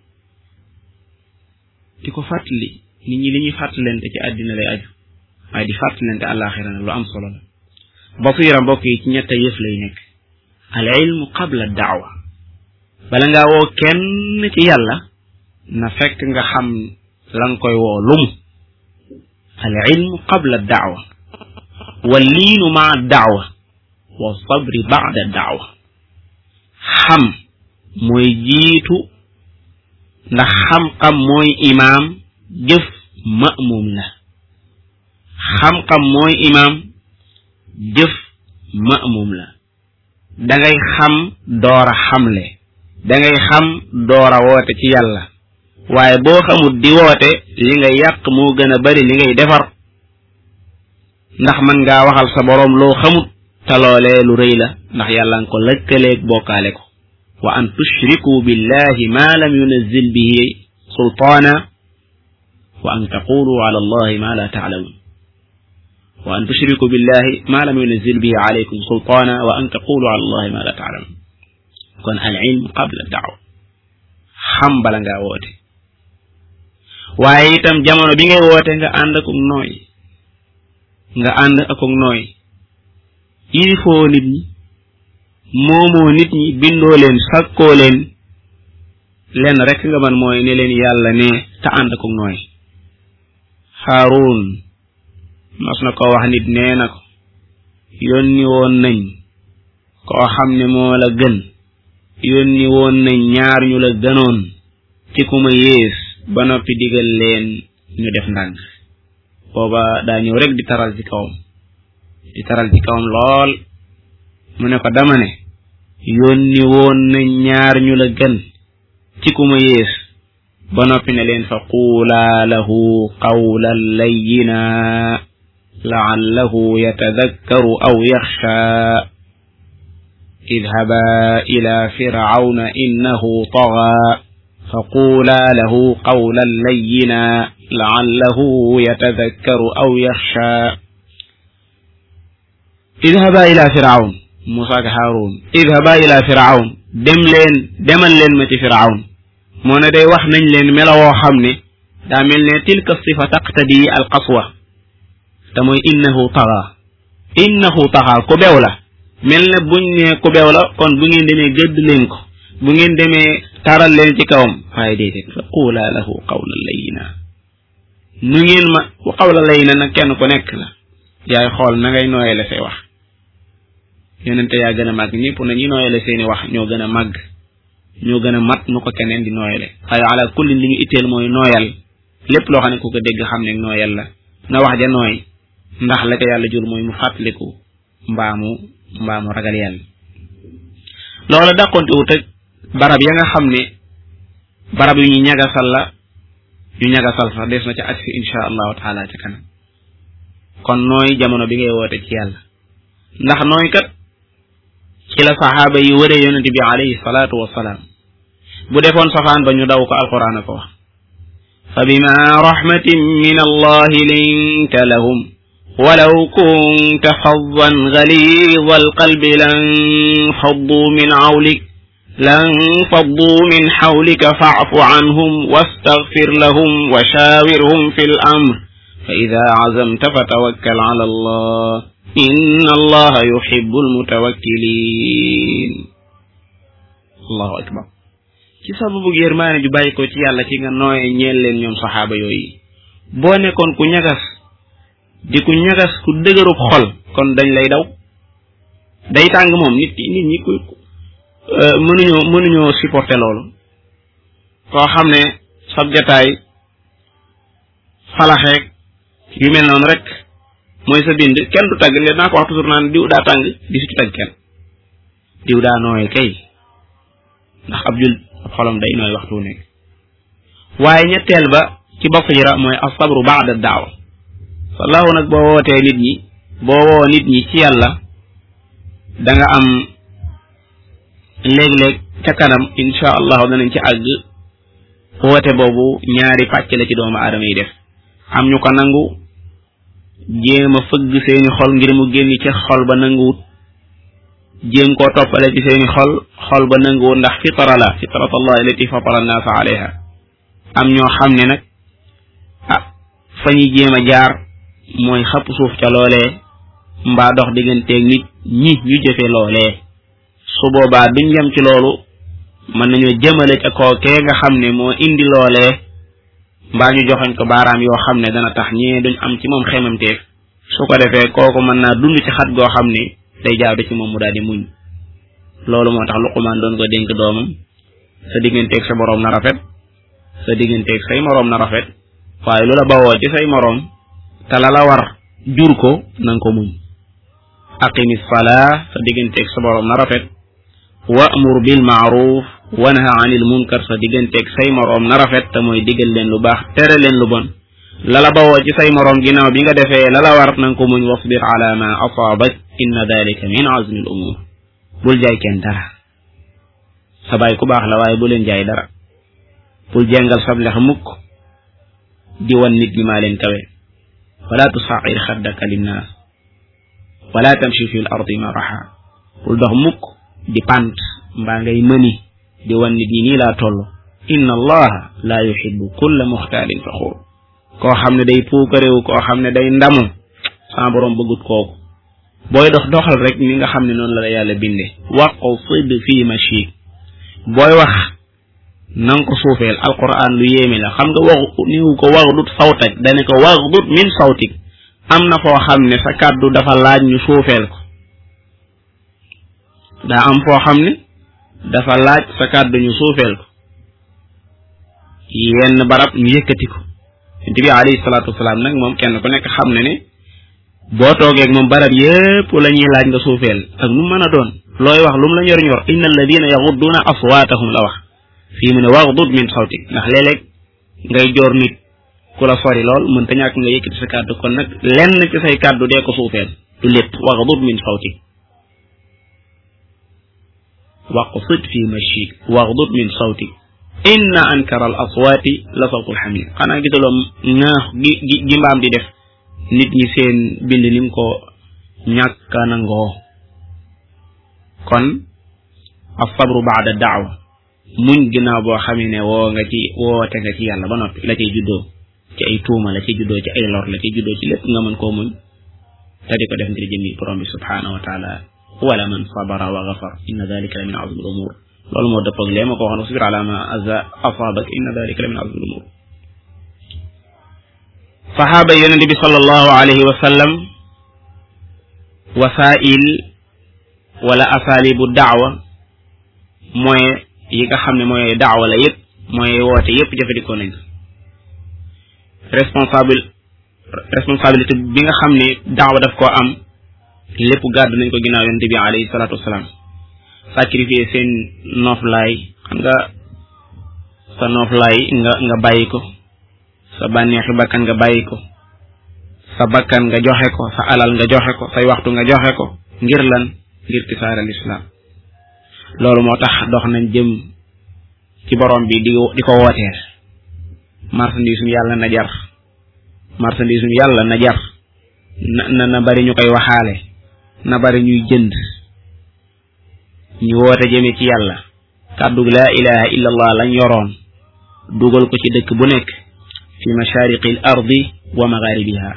di ko fàttali nit ñi li ñuy fàttalante ci àddina lay aju waaye di fàttalante àllaaxira na lu am solo la basira mbokk yi ci ñett yëf lay nekk al ilmu qabla daawa bala ngaa woo kenn ci yàlla na fekk nga xam la nga koy woo lumu al ilmu qabla daawa wal liinu maa daawa wa sabri ba'da daawa xam mooy jiitu ndax xam-xam mooy imaam jëf ma'muum la xam-xam mooy imaam jëf ma'muum la dangay xam doora xamle dangay xam doora woote ci yàlla waaye boo xamut di woote li ngay yàq moo gën a bari li ngay defar ndax mën ngaa waxal sa boroom loo xamut te loolee lu rëy la ndax yàlla nga ko lëkkaleeg bokkaale ko wa an tushriku billahi ma lam yunazzil bihi sultaana wa an taqulu ala allahi ma la ta'lamun wa an tushriku billahi ma lam yunazzil bihi alaykum sultaana wa an taqulu ala allahi ma la ta'lamun kon al ilm qabla da'wa xam bala ngaa woote waaye itam jamono bi ngay woote nga ànd ak nooy yilifoo nit ñi moomoo nit ñi bindoo leen sakkoo leen lenn rek nga man mooy ne leen yàlla ne te ànd ak nooy Haarun mas na ko wax nit nee na ko yónni woon nañ koo xam ne moo la gën yónni woon nañ ñaar ñu la gënoon ci ku ma yées ba noppi digal leen ñu def ndànk booba daa ñëw rek di taral ci kawam lool mu ne ko dama ne yónni woon nañ ñaar ñu la gën ci ku ma yées ba noppi ne leen fa quulaa lahu qawlan layyina la'allahu yatadakkaru aw yaxsha idhaba ila fir'auna innahu taghaa fa quulaa lahu qawlan layyina la'allahu yatadakkaru aw yaxsha idhaba ila fir'aun Musa ak Haarun idhaba ila fir'aun demal leen ma ci fir'aun moo ne day wax nañ leen melawoo xam ne daa mel ne tilka sifa taqtadi al qaswa te mooy innahu taxa ku bew la mel ne buñ ne ku bew la kon bu ngeen demee gëdd leen ko bu ngeen demee taral leen ci kawam waaye déedéet fa quula lahu qawlan layyina nu ngeen ma qawlan layyina nag kenn ku nekk la yaay xool na ngay nooyale say wax yonente yaa gën a màgg ñëpp na ñi nooyale seeni wax ñoo gën a màgg ñoo gën a mat nu ko keneen di nooyale waaye ala kulli li ñu itteel mooy nooyal lépp loo xam ne ku ko dégg xam ne nooyal la na wax ja nooy ndax la ko yàlla jur mooy mu fàttaliku mbaamu ragal yàlla loola dàqonte wut ak barab ya nga xam ne barab yu ñu ñagasal la yu ñagasal sax des na ca agsi insha allahu taala ca kanam kon nooy jamono bi ngay woote ci yàlla ndax nooy kat ci la saxaaba yi wëree yonente bi alayhi salaatu wassalaam bu defoon safaan ba ñu daw ko alquran a ko wax fa bima rahmatin min allahi linta lahum walaw kunta faddan ghalidha alqalbi lan faddu min hawlika fa'fu anhum wastaghfir lahum wa shawirhum fil amr fa idha azamta fatawakkal ala allah inna allaha yuhibbul mutawakkilin allahu akbar ci sababu yërmaane ju bàyyi ko ci yàlla ci nga nooye ñeel leen ñoom saxaaba yooyu boo nekkoon ku ñagas ku dëgërub xol kon dañ lay daw day tàng moom nit ñi ku mënuñoo supporter loolu koo xam ne sab jataay falaxeeg yu mel noonu rek mooy sa bind kenn du tagg le naa ko wax toujours naan diw daa tàng di su ci tagg kenn diw daa nooye kay ndax ab xolam day nooy waxtu nekk waaye ñetteel ba ci basira mooy asabru ba'da da'wa sallahu nag boo wootee nit ñi boo woo nit ñi ci yàlla da nga am léeg-léeg ca kanam insha allahu danañ ci àgg woote boobu ñaari pàcc la ci doomu aadama yi def am ñu ko nangu jéem a fëgg seeni xol ngir mu génn ci xol ba nanguwut jéem koo toppale ci seeni xol ba nanguwut ndax fitara la fitrat allah allati fatara annaasa alayha am ñoo xam ne nag fa ñuy jéem a jaar mooy xapp suuf ca loolee mbaa dox digganteeg nit ñi ñu jëfe loolee su boobaa duñ yem ci loolu mën nañoo jëmale ca kookee nga xam ne moo indi loolee mbaa ñu joxoñ ko baaraam yoo xam ne dana tax ñee duñ am ci moom xemamteef su ko defee kooku mën naa dund ci xat goo xam ne day jaadu ci moom mu daal di muñ loolu moo tax Luqmaan doon ko dénk doomam sa digganteeg sa boroom na rafet sa digganteeg say moroom na rafet waaye lu la bawoo ci say moroom te la la war jur ko nanga ko muñ aqimis salaa sa digganteeg sa boroom na rafet wa'mur bil ma'ruf wanha 'anil munkar sa digganteeg say moroom na rafet te mooy digal leen lu baax tere leen lu bon la la bawoo ci say moroom ginnaaw bi nga defee la la war nanga ko muñ wasbir ala ma asaabak inna dhalika min azmi al umur bul jaay kenn dara sa baay ku baax la waaye bu leen jaay dara bul jengal sab lex mukk di wan nit ñi maa leen kawe wala tusa'ir xaddaka linnaas wala tamshi fi l ardi maraha bul dox mukk di pant mbaa ngay mëni di wan nit ñi nii laa toll inna allaha la yuhibbu kulla muxtaalin faxuur koo xam ne day puukaréewu koo xam ne day ndamu sama boroom bëggut kooku booy doxal rek ni nga xam ne noonu la yàlla binde waqsid fi mashik booy wax nanga ko suufeel alquran lu yéeme la xam nga waxu niwu ko waxdut sawtak dane ko waxdut min sawtik am na foo xam ne sa kàddu dafa laaj ñu suufeel ko daa am foo xam ne dafa laaj sa kàddu ñu suufeel ko yenn barab ñu yëkkati ko yonent bi alayhi salaatu wasalaam nag moom kenn ku nekk xam ne boo toogeeg moom barab yépp la ñuy laaj nga suufeel ak nu mën a doon looy wax lu mu la ñor inna alladina yaxudduna aswaatahum la wax fii mu ne waxdud min sawtik ndax léeg-léeg ngay joor nit ku la sori lool mënta ñàkk nga yëkkati sa kàddu kon nag lenn ci say kàddu dee ko suufeel du lépp waxdud min sawtik waqsid fi mashik waxdud min sawtik inna ankara al aswaati la sawtul hamir xanaa gisaloo ŋaax gi mbaam di def nit ñi seen bind nim ko ñàkka nangoo kon as-sabru ba'da da'wa muñ ginnaaw boo xamee ne woote nga ci yàlla ba noppi la cay juddoo ci ay tuuma la cay juddoo ci ay lor la cay juddoo ci lépp nga mën koo muñ te di ko def ngir jëmmi borom bi subhanahu wa taala wala man sabara wa ghafar inna dhalika la min azmi al umur loolu moo dëppoog lee ma ko waxoon wasbir ala ma asaabak inna dhalika la min azmi al umur sahaaba yonente bi sallallahu alayhi wa sallam wasaa'il wala asaalibu da'wa mooy yi nga xam ne mooy daawa la yëpp mooy woote yëpp jëfandikoo nañ ko responsabilité bi nga xam ne daawa daf koo am lépp gàddu nañ ko ginnaaw yonent bi alayhi salaatu wasalaam sacrifier seen nooflaay xam nga sa nooflaay nga bàyyi ko sa bànneexi bakkan nga bàyyi ko sa bakkan nga joxe ko sa alal nga joxe ko say waxtu nga joxe ko ngir lan ngir tisaaral islam loolu moo tax dox nañ jëm ci borom bi di ko wooteel marchandise yàlla na jar marchandise yàlla na jar na bari ñu koy waxaale na bari ñuy jënd ñu woote jëme ci yàlla kàddu laa ilaha illa allah lañ yoroon dugal ko ci dëkk bu nekk fi mashariqil ardi wa magharibiha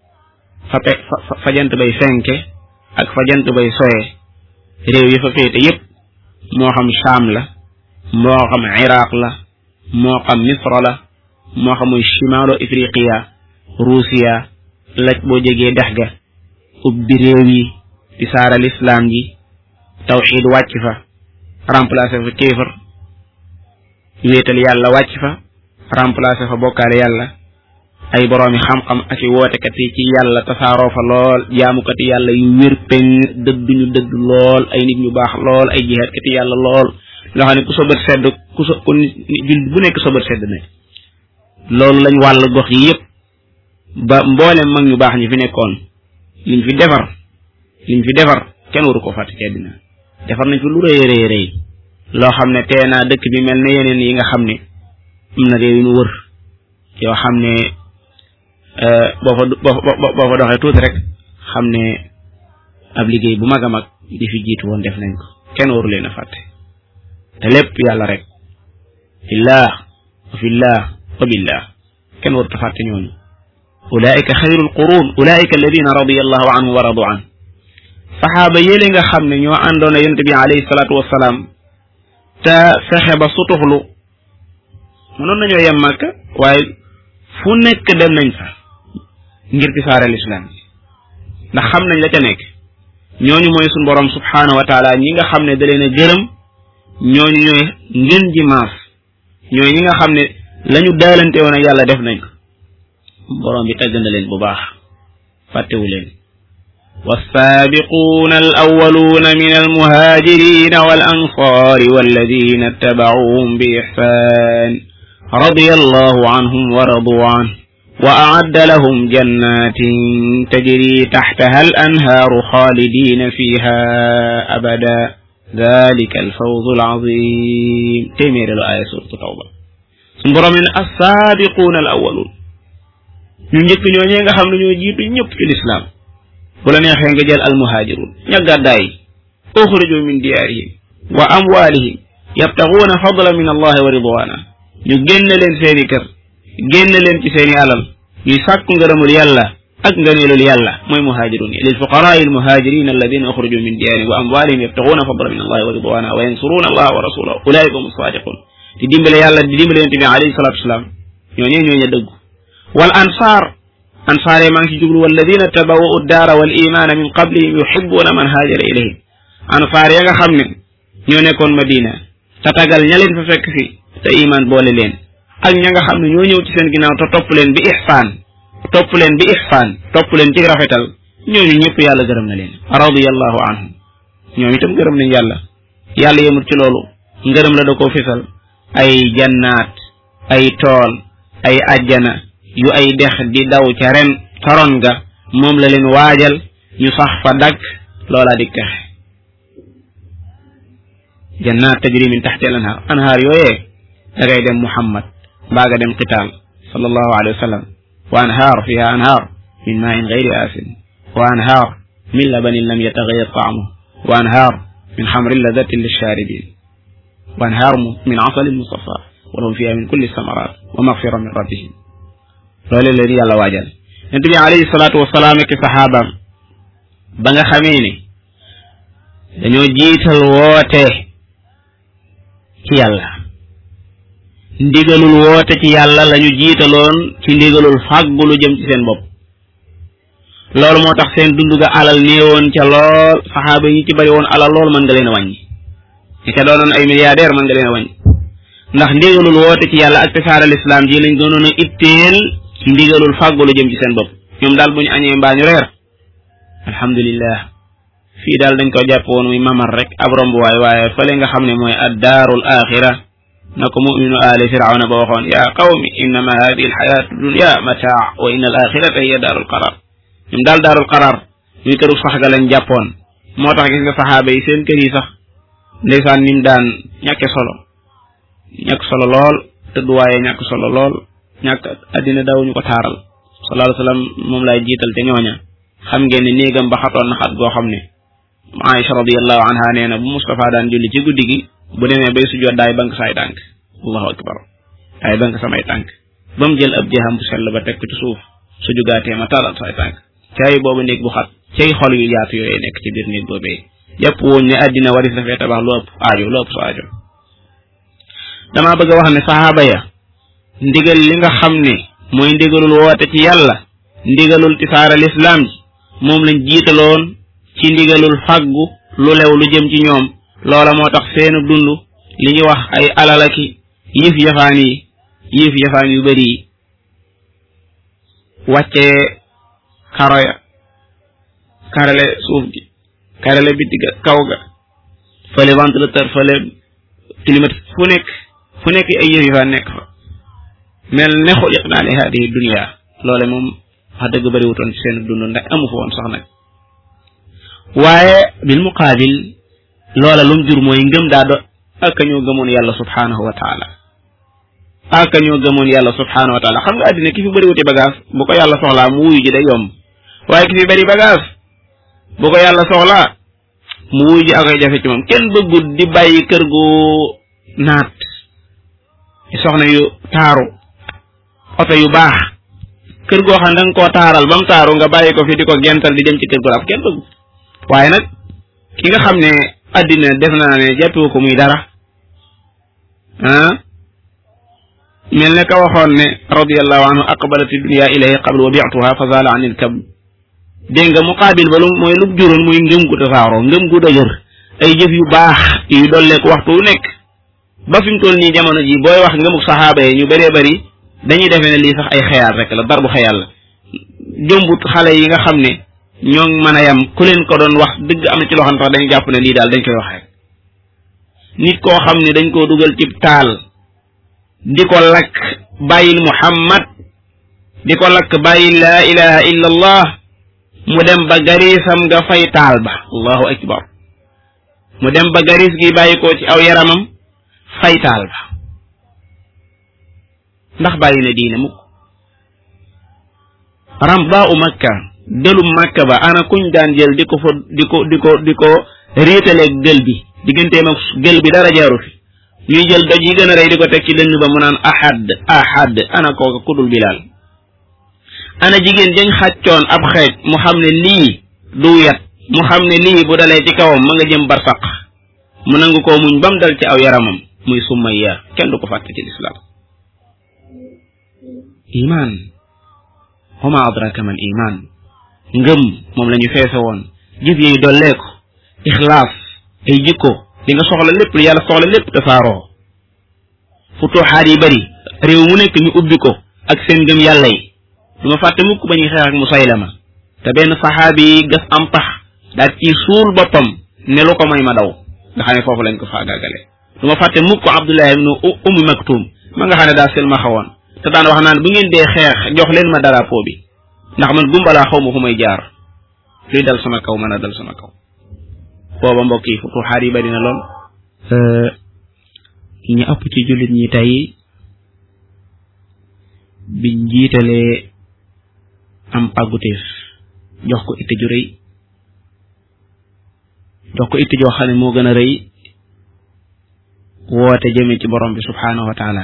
fa jant bay fenke ak fa jant bay soye réew yi fa féete yépp moo xam Sham la moo xam Iraq la moo xam Misra la moo xam muy shimaalo Ifriqiya Ruusiya laj boo jegee dex ga ubbi réew yi di saaral islam ji tawxiid wàcc fa remplacer fa kéefar wéetal yàlla wàcc fa remplacer fa bokkaale yàlla ay boroomi xam-xam ak i wootekat yi ci yàlla tasaaroo fa lool jaamukat yi yàlla yu wér peñ dëdduñu dëdd lool ay nit ñu baax lool ay jihaadkat yi yàlla lool loo xam ne ku sobat sedd ku jul bu nekk sobat sedd ne loolu lañ wàll gox yi yépp ba mboolem mag ñu baax ñi fi nekkoon liñ fi defar kenn waru ko fàtte ci àddina defar nañ fi lu rëy rëy loo xam ne tee naa dëkk bi mel ne yeneen yi nga xam ne am na réew yu ñu wër yoo xam ne boo fa doxee tuuti rek xam ne ab liggéey bu mag a mag di fi jiitu woon def nañ ko kenn waru leen a fàtte te lépp yàlla rek fillah wa fillah wa billah kenn waru ta fàtte ñooñu ulaika xayrul qurun ulaika alladina radiyallahu anhu wa radu an saxaaba yéle nga xam ne ñoo àndoon a yonent bi alayhi salaatu wasalaam te fexe ba sutuxlu mënoon nañoo yem Makka waaye fu nekk dem nañ fa ngir tisaaral islam ndax xam nañ la ca nekk ñooñu mooy suñu borom subhaanahu wa taala ñi nga xam ne da leen a gërëm ñooñu ñooy ngën ji maas ñooy ñi nga xam ne lañu daalante woon ak yàlla def nañ ko borom bi tagg na leen bu baax fàttewu leen والسابقون الأولون من المهاجرين والأنصار والذين اتبعوهم بإحسان رضي الله عنهم ورضوا عنه وأعد لهم جنات تجري تحتها الأنهار خالدين فيها أبدا ذلك الفوز العظيم تمير الآية سورة التوبة سنبرا من السابقون الأولون نجد نيوغا خامن ñoo jitu ñepp ci l'islam bu la neexee nga jël al muhajirun ña gàddaay uxruju min diyaarihim wa amwalihim yabtaxuuna fadlan min allah wa ridwana ñu génn leen seeni kër génn leen ci seeni alal ñuy sàkku ngërëmul yàlla ak ngëneelul yàlla mooy muhajirun lil fuqaraa al muhajirin alladina uxruju min diyaarihim wa amwalihim yabtaxuuna fadlan min allah wa ridwana wa yansuruuna allah wa rasulahu ulaika hum sadiqun di dimbale yàlla di dimbale yonent bi alayhi salatu wasalaam ñooñee ñooña dëggu wal ansar ansaare maa ngi ci jublu walladina tabawwa'u ad-daara wal imaana min qablihim yuhibbuuna man haajara ilayhim ansaar ya nga xam ne ñoo nekkoon Madina te tagal ña leen fa fekk fi te iman boole leen ak ña nga xam ne ñoo ñëw ci seen ginnaaw te topp leen bi ihsaan topp leen ci rafetal ñooñu ñëpp yàlla gërëm na leen radiyallahu anhum ñoom itam gërëm nañ yàlla yemut ci loolu ngërëm la da koo fisal ay jannaat ay tool ay ajjana yu ay dex di daw ca ren taron ga moom la leen waajal ñu sax fa dakk loola di texe jannaat tajri min taxti al anhaar yooyee da ngay dem Muhammad mbaa nga dem Qitaal sallallahu alayhi wa sallam wa anhaar fiha anhaar min maa'in gayri aasin wa anhaar min labanin lam yataghayyar ta'muhu wa anhaar min xamrin ladatin lishaaribin wa anhaar min asalin musaffaa wa lahum fiha min kulli samaraat wa maghfira min rabbihim loolu leen yàlla waajal yonent bi alayhi salaatu wasalaam ak saxaabaam ba nga xamee ne dañoo jiital woote ci yàlla ndigalul woote ci yàlla lañu jiitaloon ci ndigalul fàggu lu jëm ci seen bopp loolu moo tax seen dund ga alal néewoon ca lool saxaaba yi ci bari woon alal lool mën nga leen a wàññi ñi ca doonoon ay milliardaire mën nga leen a wàññi ndax ndigalul woote ci yàlla ak tasaare lislaam ji lañ doonoon a itteel ci ndigalul fàggu lu jëm ci seen bopp ñoom daal bu ñu añee mbaa ñu reer alhamdulillah fii daal dañ ko jàpp woon muy mamar rek ab rombuwaay waaye fële nga xam ne mooy addaarul axira na ko muminu aali firawna ba waxoon yaa qawmi innama hadihi alxayatu dunya mataa wa inna al axirata hiya daarul qarar ñoom daal daarul qarar muy këru sax ga lañ jàppoon moo tax gis nga saxaaba yi seen kër yi sax ndeysaan nim daan ñàkk solo lool tëdduwaaye ñàkk solo lool ñàkk addina dawuñu ko taaral sallallahu alayhi wa sallam moom lay jiital te ñooña xam ngeen ne néegam ba xatoon na xat goo xam ne Aïcha radiyallahu anha nee na bu Mustafa daan julli ci guddi gi bu demee bay sujjoot daay bank saay tànk allahu akbar daay bank samay tànk ba mu jël ab jeexam bu sell ba teg ko ci suuf su jugaatee ma talal saay tànk cay boobu néeg bu xat cay xol yu yaatu yooyu nekk ci biir néeg boobee yëpp woon ne àddina waris dafay tabax lu ëpp sa aajo damaa bëgg a wax ne saxaaba ya ndigal li nga xam ne mooy ndigalul woote ci yàlla ndigalul tisaara lislaam ji moom lañ jiitaloon ci ndigalul fàggu lu lew lu jëm ci ñoom loola moo tax seenu dund li ñu wax ay alalaki yëf yafaan yu bari yi wàccee karo ya karale suuf gi karale bitti ga kaw ga fële ventilateur fële climatique fu nekk ay yëf yafaan nekk fa mel ne xuliqnaa li haadihi dunya loole moom wax dëgg bari wutoon ci seen dund ndax amu fa woon sax nag waaye bil muqaabil loola lum jur mooy ngëm daa do ak ñoo gëmoon yàlla subhanahu wa taala xam nga àddina ki fi bëri wuti bagage bu ko yàlla soxlaa mu wuyu ji day yomb waaye ki fi bëri bagage bu ko yàlla soxlaa mu wuyu ji akoy jafe ci moom kenn bëggut di bàyyi kër gu naat soxna yu taaru oto yu baax kër goo xam ne danga koo taaral ba mu taaru nga bàyyi ko fi di ko gental di dem ci kër gu rab kenn bëggut waaye nag ki nga xam ne àddina def naa ne jàppewu ko muy dara mel ne ka waxoon ne radiyallahu anhu aqbalati dunya ilayhi qabl wa bi'tuha fa zala anil kab dégg nga muqaabil ba lu mooy lu juróon muy ngëm gu tasaaroo ngëm gu dëgër ay jëf yu baax yu dolleeku waxtu wu nekk ba fi mu toll nii jamono ji booy wax ngëmuk saxaaba yi ñu bëree bëri dañuy defee ne lii sax ay xeyaal rek la darbu xeyaal la jombut xale yi nga xam ne ñoo mën a yam ku leen ko doon wax dëgg am na ci loo xam ne sax dañu jàpp ne lii daal dañ koy wax rek nit koo xam ne dañ koo dugal ci taal di ko lakk bàyyil Muhammad di ko lakk bàyyil laa ilaha illa allah mu dem ba garisam nga fay taal ba allahu akbar mu dem ba garis gi bàyyi ko ci aw yaramam fay taal ba ndax bàyyi na diine mukk ramba u makka dëlum makka ba ana kuñ daan jël di ko réetaleeg gël bi digganteem ak gël bi dara jaaru fi ñuy jël doj yi gën a rëy di ko teg ci dënn ba mu naan ahad ana kooka kudul Bilaal ana jigéen dañ xàccoon ab xeej mu xam ne lii du yat mu xam ne lii bu dalee ci kawam ma nga jëm barsaq mu nangu koo muñ bam dal ci aw yaramam muy Sumayya kenn du ko fàtte ci lislaam iman wa ma adraka mal iman ngëm moom la ñu feese woon jëf yi dolleeku ixlaas ay jikko li nga soxla lépp lu yàlla soxla lépp tasaaroo futuxaat yi bari réew mu nekk ñu ubbi ko ak seen ngëm yàlla yi du ma fàtte mukk ba ñuy xeex ak Musaylama te benn saxaabi yi gas am pax daal ci suul boppam ne lu ko may ma daw nga xam ne foofu lañ ko faagaagale du ma fàtte mukk Abdullah ibnu Ummi Maktum ma nga xam ne daa silma xawoon te daan wax naan bu ngeen dee xeex jox leen ma drapeau bi ndax man gumbalaa xaw ma fu may jaar luy dal sama kaw mën a dal sama kaw booba mbokk yi futuxaat yi bari na lool ñu ëpp ci jullit ñi tey biñ jiitalee am pàgguteef jox ko itte ju rëy jox ko itte joo xam ne moo gën a rëy woote jëme ci borom bi subhaanahu wa taala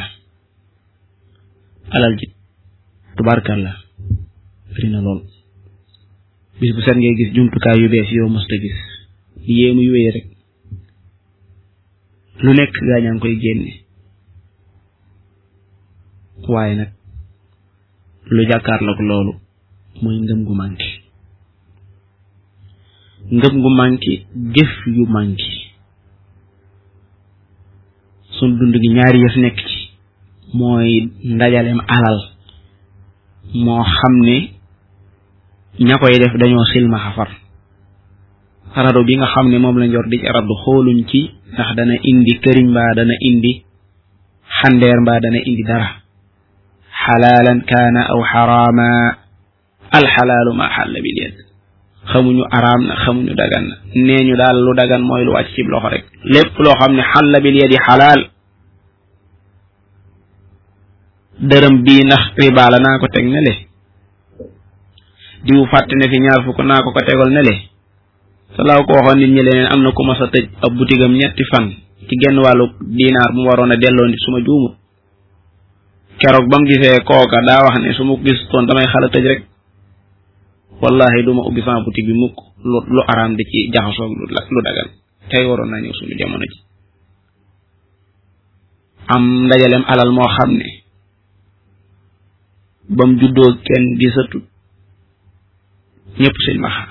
alal ji tubaarkalla bari na lool bis bu set ngay gis jumtukaay yu bees yoo mësta gis yéemu yu wéy rek lu nekk gaañaa ngi koy génne waaye nag lu jàkkaarloog loolu mooy ngëm gu manqué jëf yu manqué sun dund gi ñaari yëf nekk ci mooy ndajaleem alal moo xam ne ña koy def dañoo silma xafar rado bi nga xam ne moom la njor di ci raddu xooluñ ci ndax dana indi këriñ mbaa dana indi xandeer mbaa dana indi dara xalaalan kaana aw xaraama alxalaalu ma xalla bil yad xamuñu araam na xamuñu dagan na nee ñu daal lu dagan mooy lu wàcc ci loxo rek lépp loo xam ne xalla bil yadi xalaal dërëm bii ndax riba la naa ko teg ne le diw fàtte ne fi ñaar fukk naa ko tegal ne le salaaw ko waxoon nit ñi leneen am na ku mas a tëj ab butigam ñetti fan ci genn wàllu dinaar bu mu waroon a delloo nit su ma juumut keroog ba mu gisee kooka daa wax ne su ma gis toon damay xala tëj rek wallahi du ma ubbi sama boutique bi mukk lu araam di ci jaxasoog lu dagal tey waroon naa ñëw suñu jamono ji am ndajaleem alal moo xam ne bam juddoo kenn gisatut ñëpp seen maxa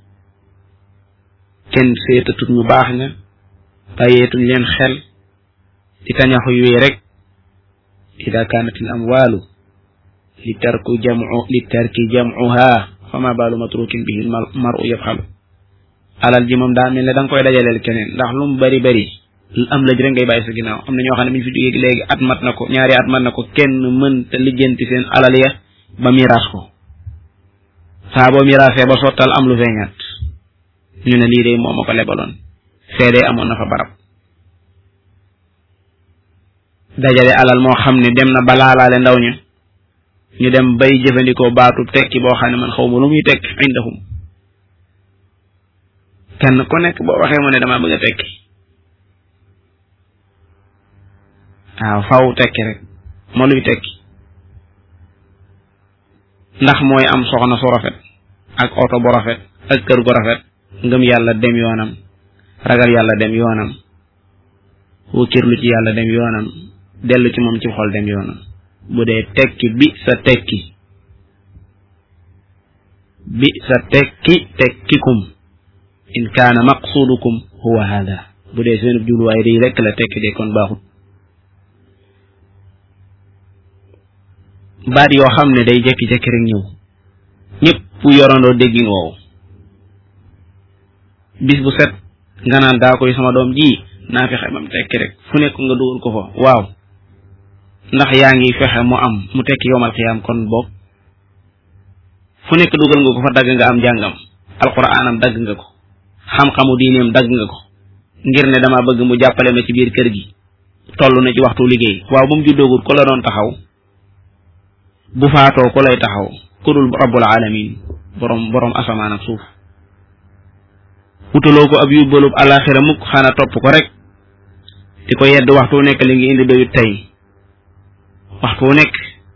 kenn seetatut ñu baax ña bàyyeetuñ leen xel di tañaxu wee rek ida kaanatil amwaalu li tarki jam'uha fama baalu matrukin bihi mar'u yafxalu alal ji moom daa mel ne da nga koy dajaleel keneen ndax lu mu bari bari am lëj rek ngay bàyyi sa ginnaaw am na ñoo xam ne bi ñu fi jógee léegi at mat na ko ñaari at mat na ko kenn mën te lijjanti seen alal ya ba miraas ko saa boo miraasee ba sottal am lu feeñaat ñu ne lii de moo ma ko lebaloon feedee amoon na fa barab dajale alal moo xam ne dem na ba laalaale ndaw ña ñu dem bay jëfandikoo baatu tekki boo xam ne man xaw ma lu muy tekki indahum kenn ku nekk boo waxee mu ne damaa bëgg a tekki waaw faw tekki rek moo luy tekki ndax mooy am soxna su rafet ak oto bu rafet ak kër gu rafet ngëm yàlla dem yoonam ragal yàlla dem yoonam wókkirlu ci yàlla dem yoonam dellu ci moom ci xol dem yoonam bu dee tekki bi sa tekki tekkikum in kaana maqsudukum huwa hada bu dee seen jubluwaay rii rekk la tekki de kon baaxut baat yoo xam ne day jekki-jekki rek ñëw ñëpp yorandoo déggin woowu bis bu set nga naan daa koy sama doom ji naa fexe ba mu tekki rek fu nekk nga dugal ko fa waaw ndax yaa ngi fexe mu am mu tekki yowmal xiyaam kon boog fu nekk dugal nga ko fa dagg nga am jàngam alquraanam dagg nga ko xam-xamu diineem dagg nga ko ngir ne dama bëgg mu jàppale ma ci biir kër gi toll na ci waxtu liggéey waaw bu mu juddoogut ko la doon taxaw bu faatoo ko lay taxaw ku dul rabbul alamin borom asamaan ak suuf wutaloo ko ab yóbbalub alaxira mukk xana topp ko rek di ko yedd waxtu nekk li ngi indi doyut tey waxtu nekk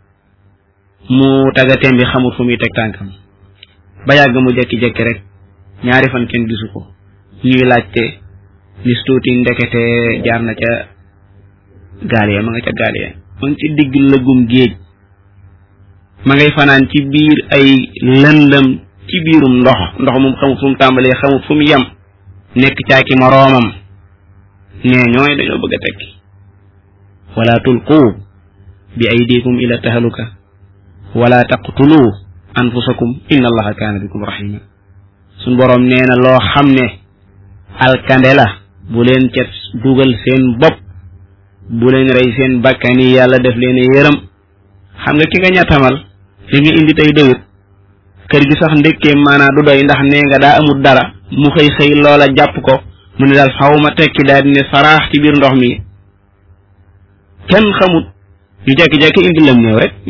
mu tagateem bi xamul fu muy teg tànkam ba yàgg mu jekki-jekki rek ñaari fan kenn gisu ko ñuy laajte nis tuuti ndekete jaar na ca gaal ya ma nga ca gaal ya ma ngi ci digg lëggum géej ma ngay fanaan ci biir ay lëndëm ci biirum ndox moom xamut fu mu tàmbalee xamut fu mu yem nekk caaki moroomam nee ñooy dañoo bëgg a tekki wala tulqu bi aydikum ila tahaluka wala taqtulu anfusakum inna allaha kaana bikum rahima suñ boroom nee na loo xam ne alkande la bu leen ca dugal seen bopp bu leen rey seen bakkani yàlla def leen yërëm xam nga ki nga ñattamal li nga indi tey doyut kër gi sax ndekkee maanaa du doy ndax nee nga daa amul dara mu xëy loola jàpp ko mu ne daal xaw ma tekki daal di ne saraax ci biir ndox mi kenn xamut ñu jekki-jekki indi lam néew rek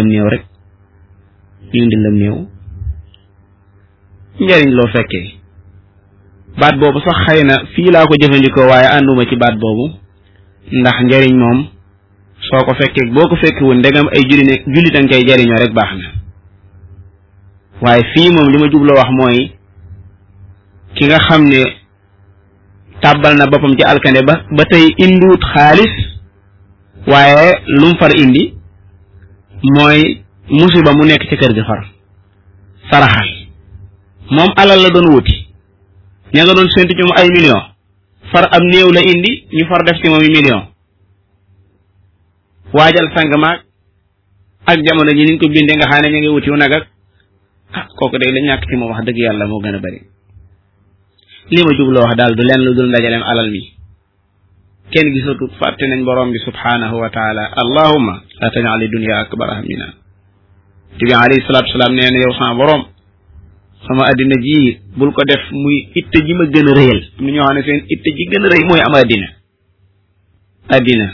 njariñ loo fekkee baat boobu sax xëy na fii laa ko jëfandikoo waaye ànduma ci baat boobu ndax njariñ moom soo ko fekkee boo ko fekkewul ndegam ay jullit a koy jariñoo rek baax na waaye fii moom li ma jubloo wax mooy ki nga xam ne tàbbal na boppam ci alkande ba tey indiwut xaalis waaye lu mu far indi mooy musiba mu nekk ci kër gi far saraxal moom alal la doon wuti ña nga doon séntu ci mu ay million far am néew la indi ñu far def ci moom million waajal sang maag ak jamono ji niñ ko bindee nga xam ne ñu ngi wutiw nag ak kooku day la ñàkk ci moom wax dëgg yàlla moo gën a bari. li ma jubloo wax daal du leen lu dul ndajaleem alal mi kenn gisatu fàtte nañ borom bi subhanahu wa taala allahumma la taj'al dunya akbar hammina te bi alayhi salatu wasalaam nee na yow sama borom sama addina ji bul ko def muy itte ji ma gën a rëyal am na ñoo xam ne seen itte ji gën a rëy mooy am addina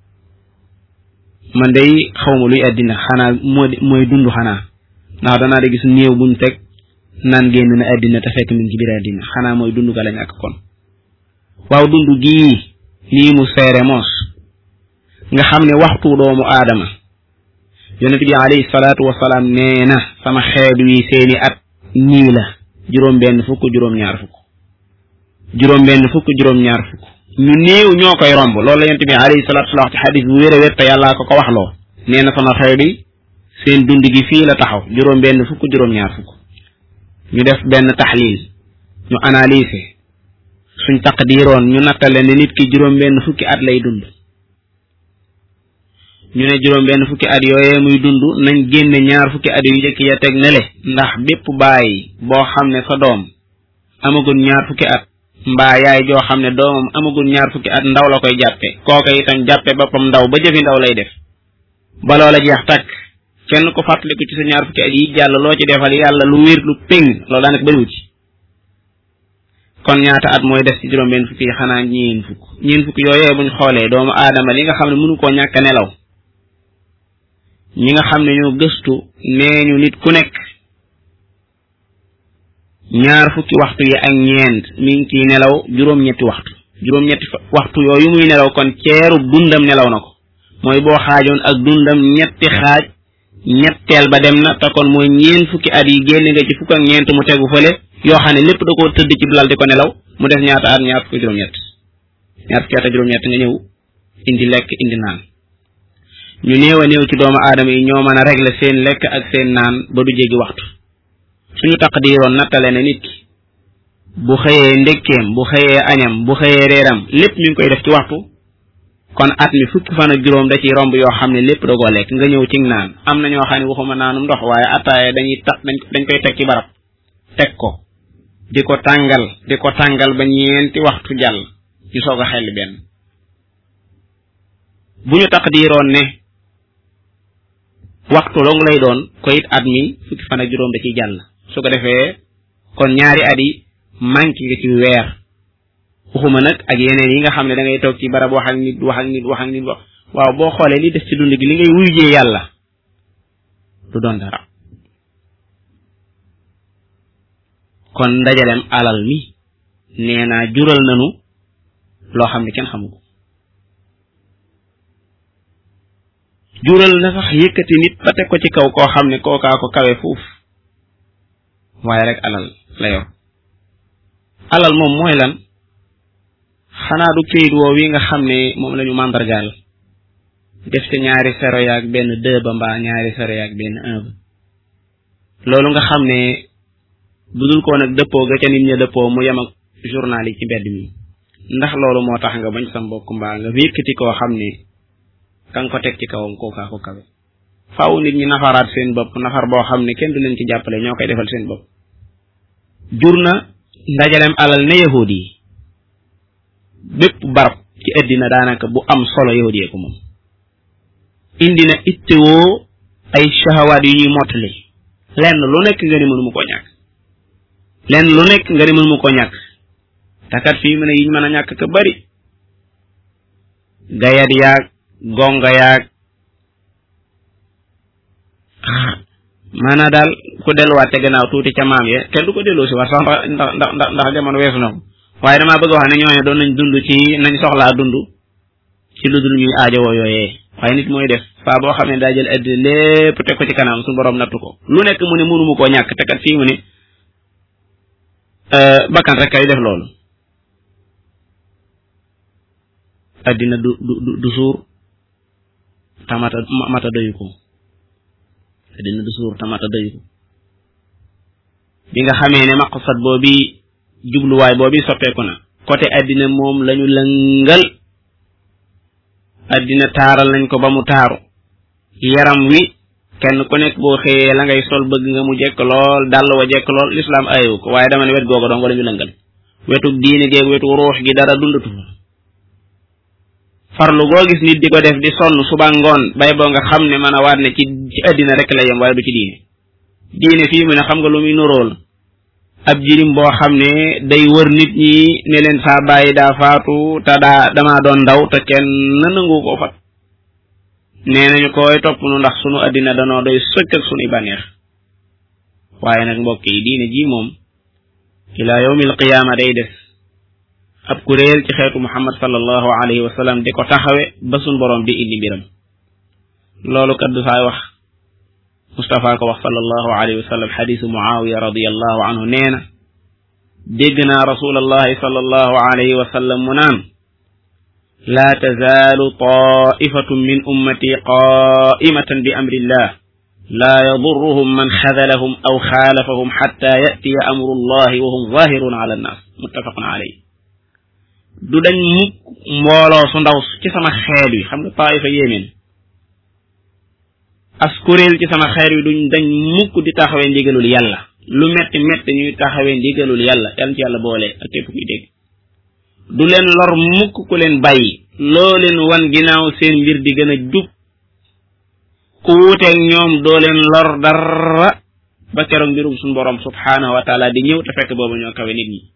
man day xawma luy addina xanaa mooy dund xanaa ndax danaa da gis néew buñ teg naan génn na addina te fekk min ci biir addina xanaa mooy dund ga lañ ak kon waaw dund gii lii mu seere moos nga xam ne waxtu doomu aadama yonent bi alayhi salaatu wasalaam nee na sama xeet wi seeni at nii la juróom-benn fukk juróom-ñaar fukk ñu néew ñoo koy romb loolu la yonent bi alayhi salaatu wasalaam wax ci xadis bu wér a wér te yàllaa ko waxloo nee na sama xeet yi seen dund gi fii la taxaw juróom-benn fukk juróom-ñaar fukk ñu def benn taxliil ñu analyser suñ taqdiroon ñu nattale ne nit ki juróom-benn fukki at lay dund ñu ne juróom-benn fukki at yooyee muy dund nañ génne ñaar fukki at yu njëkk ya teg ne le ndax bépp baay boo xam ne sa doom amagul ñaar fukki at mbaa yaay joo xam ne doomam amagul ñaar fukki at ndaw la koy jàppe kooka itam jàppe boppam ndaw ba jëfi ndaw lay def ba loola jeex takk kenn ko fàttaliku ci sa ñaar fukki at yi jàll loo ci defal yàlla lu wér lu péng loolu daanaka bëriwu ci kon ñaata at mooy def ci juróom-benn fukki yi xanaa ñeen fukk yooyee buñ xoolee doomu aadama li nga xam ne mënu koo ñàkk a nelaw ñi nga xam ne ñoo gëstu nee ñu nit ku nekk ñaar fukki waxtu yi ak ñeent mi ngi ciy nelaw juróom-ñetti waxtu yooyu muy nelaw kon ceeru dundam nelaw na ko mooy boo xaajoon ak dundam ñetti xaaj ñetteel ba dem na te kon mooy ñeen fukki at yi génne nga ci fukk ak ñeent mu tegu fële yoo xam ne lépp da koo tëdd ci lal di ko nelaw mu def ñaata at ñaar fukki juróom-ñett nga ñëw indi lekk indi naan ñu néew a néew ci doomu aadama yi ñoo mën a régler seen lekk ak seen naan ba du jéggi waxtu suñu taqdiroon nattale ne nit ki bu xëyee ndekkeem bu xëyee añam bu xëyee reeram lépp mi ngi koy def ci waxtu kon at mi fukki fan ak juróom da ciy romb yoo xam ne lépp da koo lekk nga ñëw ci naan am na ñoo xam ne waxuma naanum ndox waaye ataaya dañ koy teg ci barab teg ko di ko tàngal ba ñeenti waxtu jàll ñu soog a xel benn bu ñu taqdiroon ne waxtu dong lay doon ko it at mi fukki fan ak juróom da ciy jàll su ko defee kon ñaari at yi manqué nga ci weer waxuma nag ak yeneen yi nga xam ne da ngay toog ci barab wax ak nit waaw boo xoolee li des ci dund gi li ngay wuyjee yàlla du doon dara kon ndajalem alal mi nee naa jural nanu loo xam ne kenn xamu ko jural na sax yëkkati nit ba teg ko ci kaw koo xam ne kookaa ko kawe fuuf waaye rek alal la yor alal moom mooy lan xanaa du këyit woow yi nga xam ne moom la ñu màndargaal def ci ñaari zéro yaag benn 2 ba mbaa ñaari zéro yaag benn 1 ba loolu nga xam ne budul ko nag dëppoo ga ca nit ña dëppoo mu yem ak journal yi ci mbedd mi ndax loolu moo tax nga bañ sa mbokk mbaa nga yëkkati koo xam ne ka nga ko teg ci kawam kookaa ko kawe faaw nit ñi nafaraat seen bopp nafar boo xam ne kenn du leen ci jàppale ñoo koy defal seen bopp jur na ndajalem alal ne yahudi yi bépp barab ci àddina daanaka bu am solo yahudi yee ko moom indi na ittewoo ay shahawaat yu ñuy mottali lenn lu nekk nga ne mënuma koo ñàkk takat fii mu ne yiñ mën a ñàkk ka bari gayat yaag gonga yaag maanaa daal ku delluwaat te gannaaw tuuti ca maam ya kenn du ko delloo si war sax ndax jamono weesu na ko waaye damaa bëgg wax ne ñooñu doon nañ dund ci nañ soxlaa dund ci lu dul ñuy aajowoo yooyee waaye nit mooy def faa boo xam ne daa jël àddina lépp teg ko ci kanam suñu borom nattu ko lu nekk mu ne mënuma koo ñàkk te kat fii mu ne bakkan rek kay def loolu àddina du suur tamata doyu ko àddina du suur tamata doyu ko bi nga xamee ne maqsad boobi jubluwaay boobi soppeeku na côté àddina moom lañu lëngal addina taaral nañ ko ba mu taaru yaram wi kenn ku nekk boo xëyee la ngay sol bëgg nga mu jekk lool dàll wa jekk lool lislaam ayewu ko waaye dama ne wet googu dong wala ñu lëngal wetu diine géeg wetu ruux gi dara dundatu farlu goo gis nit di ko def di sonn suba ngoon bay boo nga xam ne mën a waat ne ci addina rek la yem waaye du ci diine fii mu ne xam nga lu muy nuróol ab jirim boo xam ne day wër nit ñi ne leen saa bàyyi daa faatu te damaa doon ndaw te kenn nangu ko fat nee nañu koy topp nu ndax sunu addina danoo doy socc ak sunuy bànneex waaye nag mbokk yi diine ji moom ila yawmil qiyaama day des ab kuréel ci xeetu muhammad sallallahu alayhi wa sallam di ko taxawe ba sun borom di indi mbiram loolu kat du saay wax Mustafa ko wax sallallahu alayhi wa sallam xadisu Muawiya radiyallahu anhu nee na dégg naa rasulallahi sallallahu alayhi wa sallam mu naan laa tazaalu taifatun min ummati qaimatan bi amrillah laa yadurruhum man xadalahum aw xaalafahum xatta yatiya amru llahi wa hum zahirun ala annas muttafaqun alayhi du dañ mukk mbooloo su ndaw ci sama xeet wi xam nga taifa yéemeen as kuréel ci sama xeer wi duñ dañ mukk di taxawee ndigalul yàlla lu metti metti ñuy taxawee ndigalul yàlla yàlla ci yàlla boole ak képp kuy dégg du leen lor mukk ku leen bàyyi loo leen wan ginnaaw seen mbir di gën a jub ku wuuteeg ñoom doo leen lor dara ba keroog mbirum suñu borom subhanahu wa taala di ñëw te fekk boobu ñoo kawe nit ñi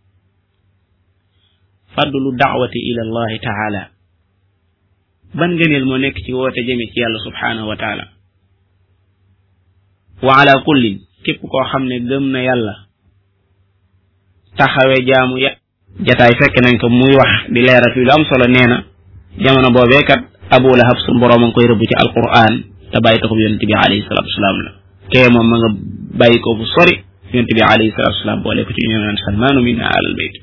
fadlu da'wati ila allahi taala ban ngëneel moo nekk ci woote jëme ci yàlla subhanahu wa taala wa ala kullin képp koo xam ne gëm na yàlla taxawe jaamu ya jataay fekk nañ ko muy wax di leeral fi lu am solo nee na jamono boobee kat Abu Lahab sun boroom a ngi koy rëbb ci alquran te bàyyi taxub yonent bi alayhi salatu wasalaam la kee moom ma nga bàyyi ko fu sori yonent bi alayhi salatu wasalaam boole ko ci ñu naan salmaanu minna alal bayt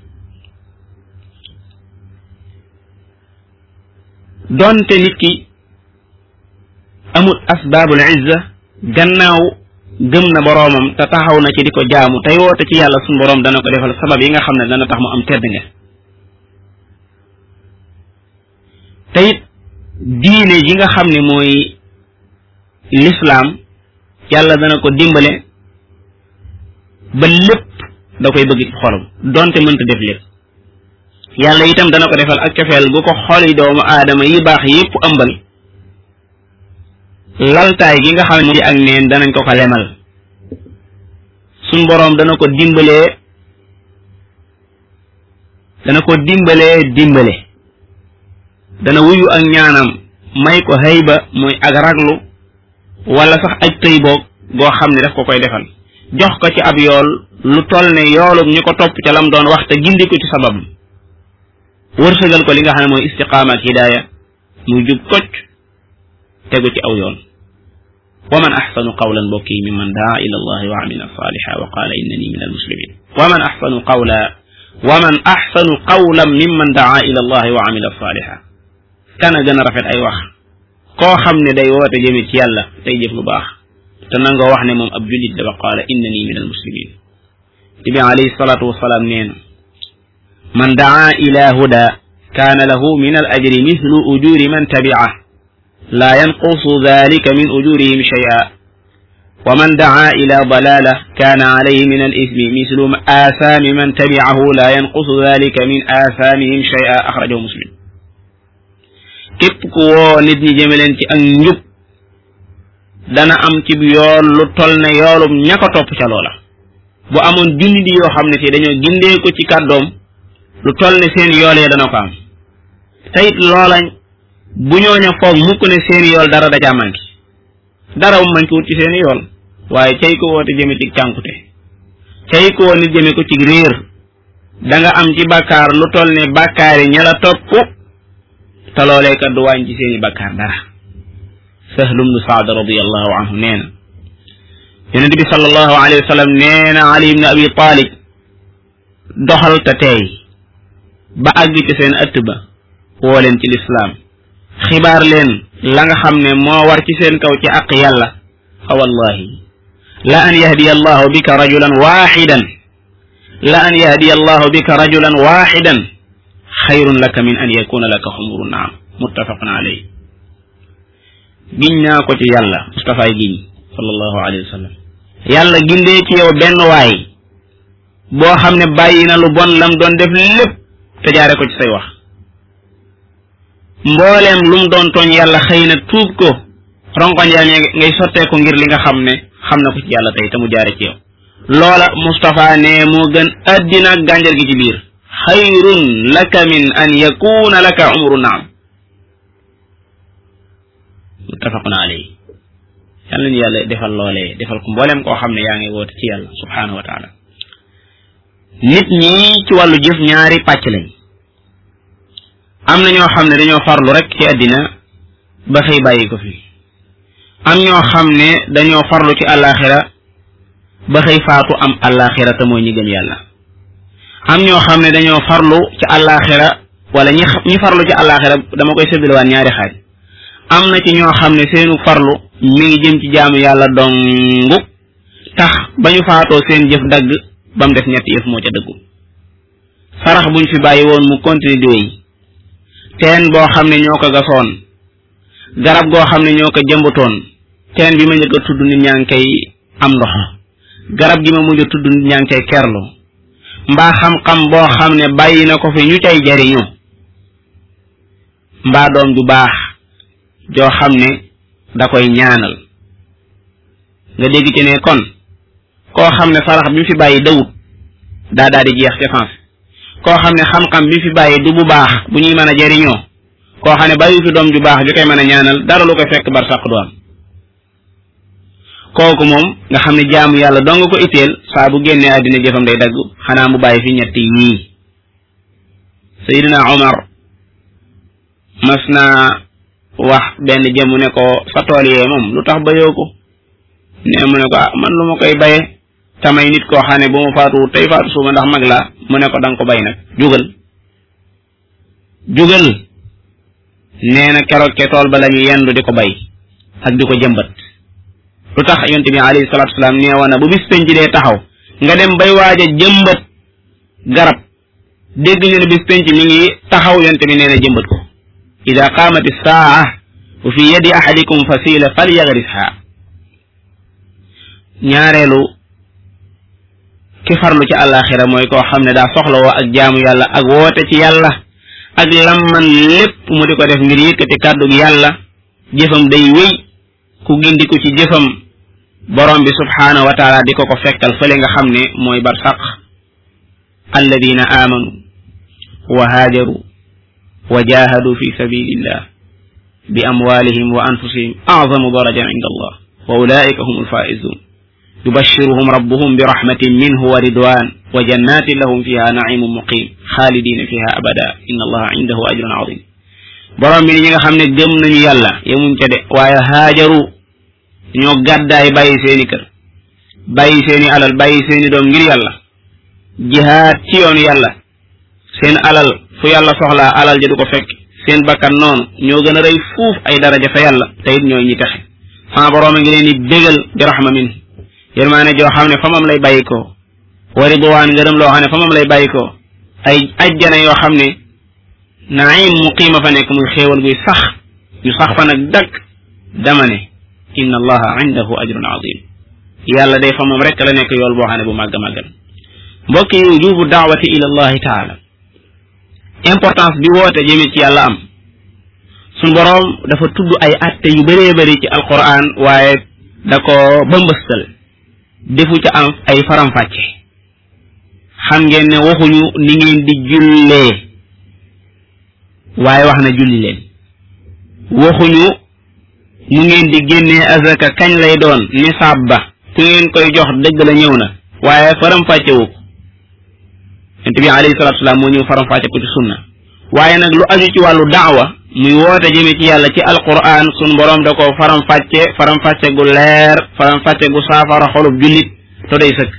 donte nit ki amul asbaabul izza gannaaw gëm na boroomam te taxaw na ci di ko jaamu tey woote ci yàlla suñu boroom dana ko defal sabab yi nga xam ne dana tax mu am tedd nga te it diine ji nga xam ne mooy lislaam yàlla dana ko dimbale ba lépp da koy bëgg ci xolam donte mënta def lépp yàlla itam dana ko defal ak cofeel gu ko xoli doomu aadama yi baax yépp ëmbal laltaay gi nga xam ne ak neen danañ ko ko lemal suñ boroom dana ko dimbale dana wuyu ak ñaanam may ko hayba mooy ak raglu wala sax aj tëy boog goo xam ne daf ko koy defal jox ko ci ab yool lu toll ne yoolub ñu ko topp ca lam doon wax te gindi ko ci sabab wërsëgal ko li nga xam ne mooy istiqaama ak hidaaya muy jub kocc tegu ci aw yoon wa man axsanu qawlan mbokki mimman daa ila allahi wa amila saliha wa qaala innani min almuslimin wa man axsanu qawlan mimman daa ila allahi wa amila saliha kana gën a rafet ay wax koo xam ne day woote jëme ci yàlla tey jëf lu baax te nangoo wax ne moom ab jullit la wa qaala innani min almuslimin nabi alayhi salatu wasalaam nee na man daa ila huda kaana lahu min al ajri mithlu ujuri man tabi'ah la yanqusu dhalika min ujurihim shay'a wa man daa ila dalalah kaana alayhi min al ithmi mithlu athami man tabi'ahu la yanqusu dhalika min athamihim shay'a akhrajahu muslim képp ku woo nit ñi jëme leen ci ak njub dana am ci yool lu toll ne yoolum ña ko topp ca loola bu amoon junni di yoo xam ne fii dañoo gindee ko ci kàddoom lu toll ne seen yool ya dana ko am tayit loola bu ñooña foog mukk ne seen yool dara da caa manki dara mu manki wut ci seen yool waaye cay ko woote jëme ci cànkute cay ko woo nit jëme ko ci réer da nga am ci bàkkaar lu toll ne bàkkaari ña la topp te loolee kat du wàññi ci seeni bàkkaar dara Sahl ibn Sa'd radiyallahu anhu nee na yonent bi sallallahu alayhi wa sallam nee na Ali ibn Abi Talib doxal te teey ba àgg ci seen ëtt ba woo leen ci lislaam xibaar leen la nga xam ne moo war ci seen kaw ci àq yàlla fa wallahi la an yahdiya allahu bika rajulan waxidan xayrun laka min an yakuna laka xumuru naam muttafaqun alayhi. giñ naa ko ci yàlla Mustafaay giñ sallallahu alayhi wa sallam yàlla gindee ci yow benn waay boo xam ne bàyyi na lu bon lam doon def lépp te jaare ko ci say wax mbooleem lu mu doon tooñ yàlla xëy na tuub ko ronkoñ yaa ngay sottee ko ngir li nga xam ne xam na ko ci yàlla tey te mu jaare ci yow loola Mustafa ne moo gën addina ak gànjar gi ci biir xayrun laka min an yakuna laka umru naam muttafaqun alayhi yàlla ñu yàlla defal loolee defal ko mbooleem koo xam ne yaa ngi woote ci yàlla subhanahu wa taala nit ñi ci wàllu jëf ñaari pàcc lañ am na ñoo xam ne dañoo farlu rek ci àddina ba xëy bàyyi ko fi am ñoo xam ne dañoo farlu ci àllaaxira ba xëy faatu am àllaaxira te mooy ñi gëm yàlla am ñoo xam ne dañoo farlu ci àllaaxira wala ñi farlu ci àllaaxira dama koy séddalewaat ñaari xaaj am na ci ñoo xam ne seenu farlu mi ngi jëm ci jaamu yàlla dongu tax ba ñu faatoo seen jëf dagg ba mu def ñetti yëf moo ca dëggu sarax buñ fi bàyyi woon mu continuer di wéy teen boo xam ne ñoo ko gasoon garab goo xam ne ñoo ko jëmbatoon teen bi ma njëkk a tudd nit ñaa ngi koy am ndox garab gi ma mujj a tudd nit ñaa ngi koy kerlu mbaa xam-xam boo xam ne bàyyi na ko fi ñu cay jariñu mbaa doom ju baax joo xam ne da koy ñaanal nga dégg ci ne kon koo xam ne sarax bi mu fi bàyyi dawut daa di jeex défense koo xam ne xam-xam bi mu fi bàyyi du bu baax bu ñuy mën a jariñoo koo xam ne bàyyi fi doom ju baax ju koy mën a ñaanal dara lu koy fekk bar sàq du am kooku moom nga xam ne jaamu yàlla dong ko itteel saa bu génnee àddina jëfam day dagg xanaa mu bàyyi fi ñetti yii Seydina Omar mas naa wax benn jëmu ne ko sa tool yee moom lu tax bayoo ko ne mu ne ko man lu ma koy baye tamay nit koo xam ne bu ma faatu tey faatu suuma ndax mag laa mu ne ko danga ko bay nag jugal nee na keroog ke tool ba la ñu yendu di ko bay ak di ko jëmbat lu tax yonent bi alayhi salaatu wasalaam nee woon na bu bis penc dee taxaw nga dem bay waaj a jëmbat garab dégg ñu ne bis penc mi ngi taxaw yonent bi nee na jëmbat ko ida qaamat as-saa wa fi yadi ahadikum fasila falyagrisha ñaareelu ki farlu ci àllaaxira mooy koo xam ne daa soxla woo ak jaamu yàlla ak woote ci yàlla ak lamman lépp mu di ko def ngir yëkkati kàddu yàlla jëfam day wéy ku gindiku ci jëfam borom bi subhaanahu wa taala di ko fekkal fële nga xam ne mooy barsaq alladina amanu wa haajaru wa jahadu fi sabilillah bi amwalihim wa anfusihim a'zamu darajan inda allah wa ulaika humul faizun yubashshiruhum rabbuhum bi rahmatin minhu wa ridwan wa jannatin lahum fiha na'imun muqim khalidina fiha abada inna allaha indahu ajrun azim borom bi ñi nga xam ne gëm nañu yàlla yemuñ ca de waaye haajaru ñoo gàddaay bàyyi seeni kër bàyyi seeni alal bàyyi seeni doom ngir yàlla jihaad ci yoonu yàlla seen alal fu yàlla soxlaa alal ja du ko fekk seen bakkan noonu ñoo gën a rëy fuuf ay daraja fa yàlla te it ñooy ñi texe sama borom a ngi leen di bégal bi rahma min yërmaane joo xam ne fa moom lay bàyyi ko wa ridwaan ngërëm loo xam ne fa moom lay bàyyi ko ay ajjana yoo xam ne naim muqiima fa nekk muy xéewal guy sax ñu sax fa nag dakk dama ne inna allaha indahu ajrun azim yàlla day fa moom rek la nekk yool boo xam ne bu màgg màggal mbokk yi wujubu daawati ila allahi taala importance bi woote jëme ci yàlla am suñ boroom dafa tudd ay atte yu bëree bëri ci alquran waaye da ko bëmbëstal defu ca am ay faram-fàcce xam ngeen ne waxuñu ni ngeen di jullee waaye wax na julli leen waxuñu nu ngeen di génnee azaka kañ lay doon nisaab ba ku ngeen koy jox dëgg la ñëw na waaye faram-fàcce wu ko yonent bi alayhi salaatu wasalaam moo ñëw faram-fàcce ko ci sunna waaye nag lu aju ci wàllu daawa muy woote jëme ci yàlla ci alquran sun borom da ko faram-fàcce gu leer faram-fàcce gu saafara xolub jullit to day sëkk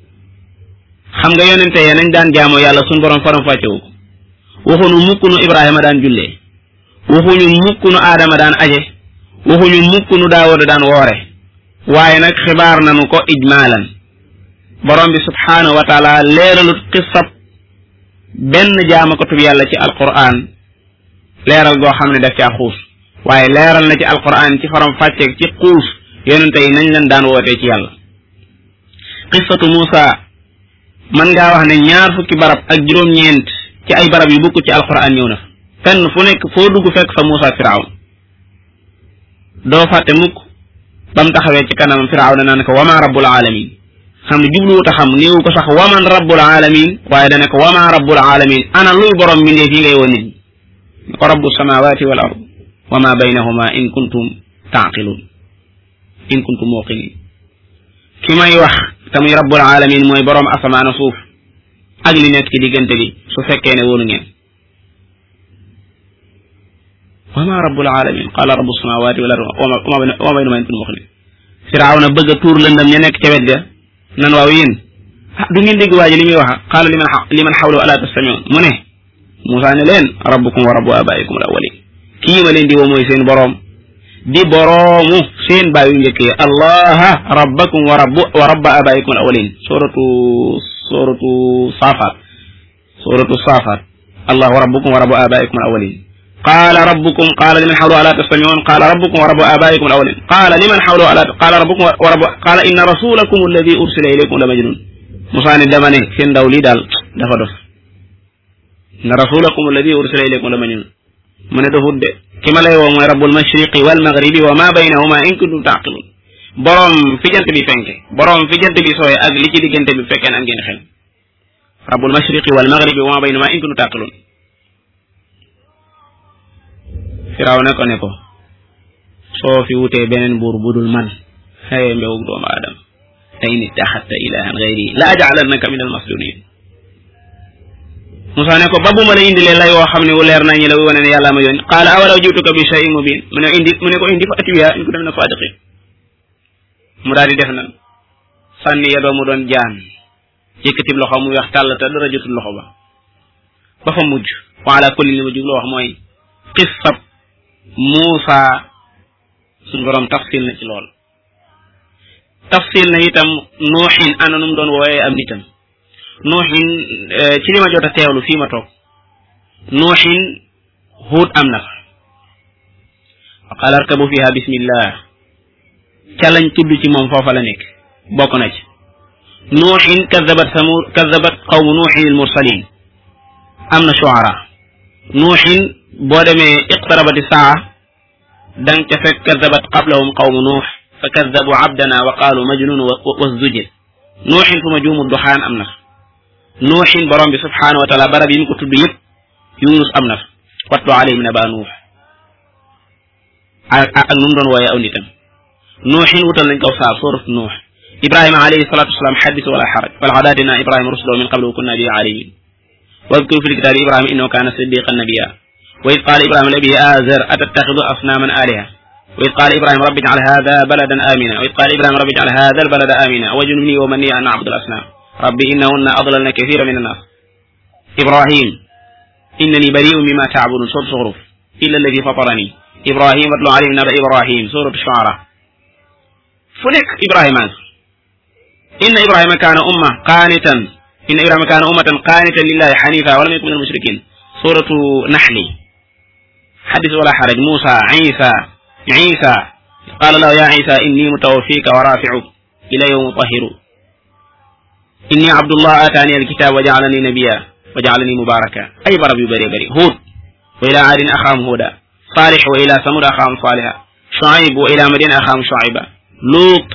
xam nga yonente ya nañ daan jaamoo yàlla sun borom faram-fàcce wu ko waxuñu mukk nu Ibrahima daan jullee waxuñu mukk nu Aadama daan aje waxuñu mukk nu Daawuda daan woore waaye nag xibaar nanu ko ijmaalan borom bi subhaanahu wa taala leeralut xisab benn jaamakatub yàlla ci alquran leeral goo xam ne daf caa xuus waaye leeral na ci alquran ci faram fàcceeg ci xuus yonente yi nañ leen daan wootee ci yàlla. qissatu Muusa man ngaa wax ne 20 barab ak juróom-ñeent ci ay barab yu bokk ci alquran ñëw na fa fenn fu nekk foo dugg fekk fa Muusa Firawna doo fàtte mukk bam taxawee ci kanam Firawna naan ko wama rabbul alamin xam ne jubluwut a xam néewu ko sax waman rabbul alamin waaye dana ko wama rabbul alamin ana luy borom mbindeef yi ngay woon nit ñi ko rabbu samawati wal ard wama baynahuma in kuntum taqilun in kuntum muqinin ki may wax te muy rabbul alamin mooy borom asamaan suuf ak li nekk ci diggante bi su fekkee ne wóolu ngeen wama rabbul alamin qala rabbu samawati wal ard wama baynahuma in kuntum muqinin Firawna bëgg a tuur lëndam ña nekk ca wet ga nan waaw yéen du ngeen dégg waaji li muy wax qaala liman xawlahu ala tastamiun mu ne Muusaa ne leen rabbukum wa rabbu abaikum al awwalin kii ma leen di woo mooy seen boroom di boroomu seen baay yu njëkk yi allaha rabbakum wa rabba abaikum al awwalin suratu saafaat allahu rabbukum wa rabbu abaikum al awwalin qaala rabbukum qaala liman xawlahu ala tastamiun qaala rabbukum wa rabbu abaikum al awwalin qaala liman xawlahu ala qaala rabbukum wa rabbu qaala inna rasulakum alladi ursila ilaykum la majnun Musaa ne dama ne seen ndaw lii daal dafa dof inna rasulakum alladi ursila ilaykum la majnun mu ne dofut de ki ma lay woo mooy rabbul mashriqi wal maghribi wa ma baynahuma in kuntum taqilun boroom fi jant bi fenke boroom fi jant bi sooye ak li ci diggante bi fekkee ne am ngeen xel rabbul mashriqi wal maghribi wa ma baynahuma in kuntum taqilun Firawna ko ne ko soo fi wutee beneen buur budul man xëye mbewug doomu aadama te in ittaxadta ilahan gayri la aj'alannaka min al masjunin Musaa ne ko ba bu ma la indilee lay woo xam ne wu leer nañu la wane ne yàlla ma yónni qaala awalaw jiituka bi shay'in mubin mu ne ko indi fa atiya in kunta mina sadiqin mu daal di def na sànni ya doomu doon jaan yëkkatib loxo muy wax tàll te dara jotul loxo ba fa mujj wa ala kulli li ma jublu wax mooy qissab Muusaa suñ borom tafsil na ci lool tafsil na itam nuuxin ana nu mu doon woowee am nitam nuuxin ci li ma jot a teewlu fii ma toog nuuxin Huud am na fa wa qaala arkabu fiha bismillah ca lañ tudd ci moom foofa la nekk bokk na ci nuuxin kazabat qawmu nuuxin al mursalin am na shuara nuuxin boo demee iqtarabati saa dang ca fekk kazabat qablahum qawmu nuux fa kazabu abdana wa qaalu majnun wasdujir nuuxin fu ma juumu duxaan am na fa nuuxin borom bi subhanahu wa taala barab yi mu ko tudd yëpp yunus am na fa watlu alayhim naba nuux ak nu mu doon wooyee aw nitam nuuxin wutal nañ kaw saa suuratu nuux ibrahima alayhi salatu wasalaam xaddis wala xaraj walaqad aatinaa ibrahima ruslahu min qablu wa kunna bihi aalimin wadkur fi lkitaabi ibrahima innahu kaana siddiqan nabiyya wa id qaala ibrahima li abiihi aazar atattaxidu asnaaman aaliha wa id qaala ibrahima rabbi ij'al haadha baladan aamina wa id qaala ibrahima rabbi ij'al haadha albalada aamina wajnubnii wa baniya an na'buda al-asnaam rabbi innahunna adlalna kathiran min annaas ibrahim innani bari'un mimma ta'budun suuratu Zuxruf illa alladi fatarani ibrahim watlu alayhim naba ibrahim suuratu Shu'ara fu nekk ibrahima inna ibrahima kaana ummatan qaanitan lillahi hanifa wa lam yakun minal mushrikin suuratu Naxli xaddis wala xaraj Muusa Isa qaala lahu ya Isa inni mutawaffika wa rafi'uka ilayya wa mutahhiruka inni abdullah ataani alkitab wa ja'alani nabiyya wa ja'alani mubaraka ay barab yu bëri bëri Huud wa ila aadin axaahum Huuda Saalix wa ila Samud axaahum Saaliha Shuayb wa ila Madyan axaahum Shuayba Luut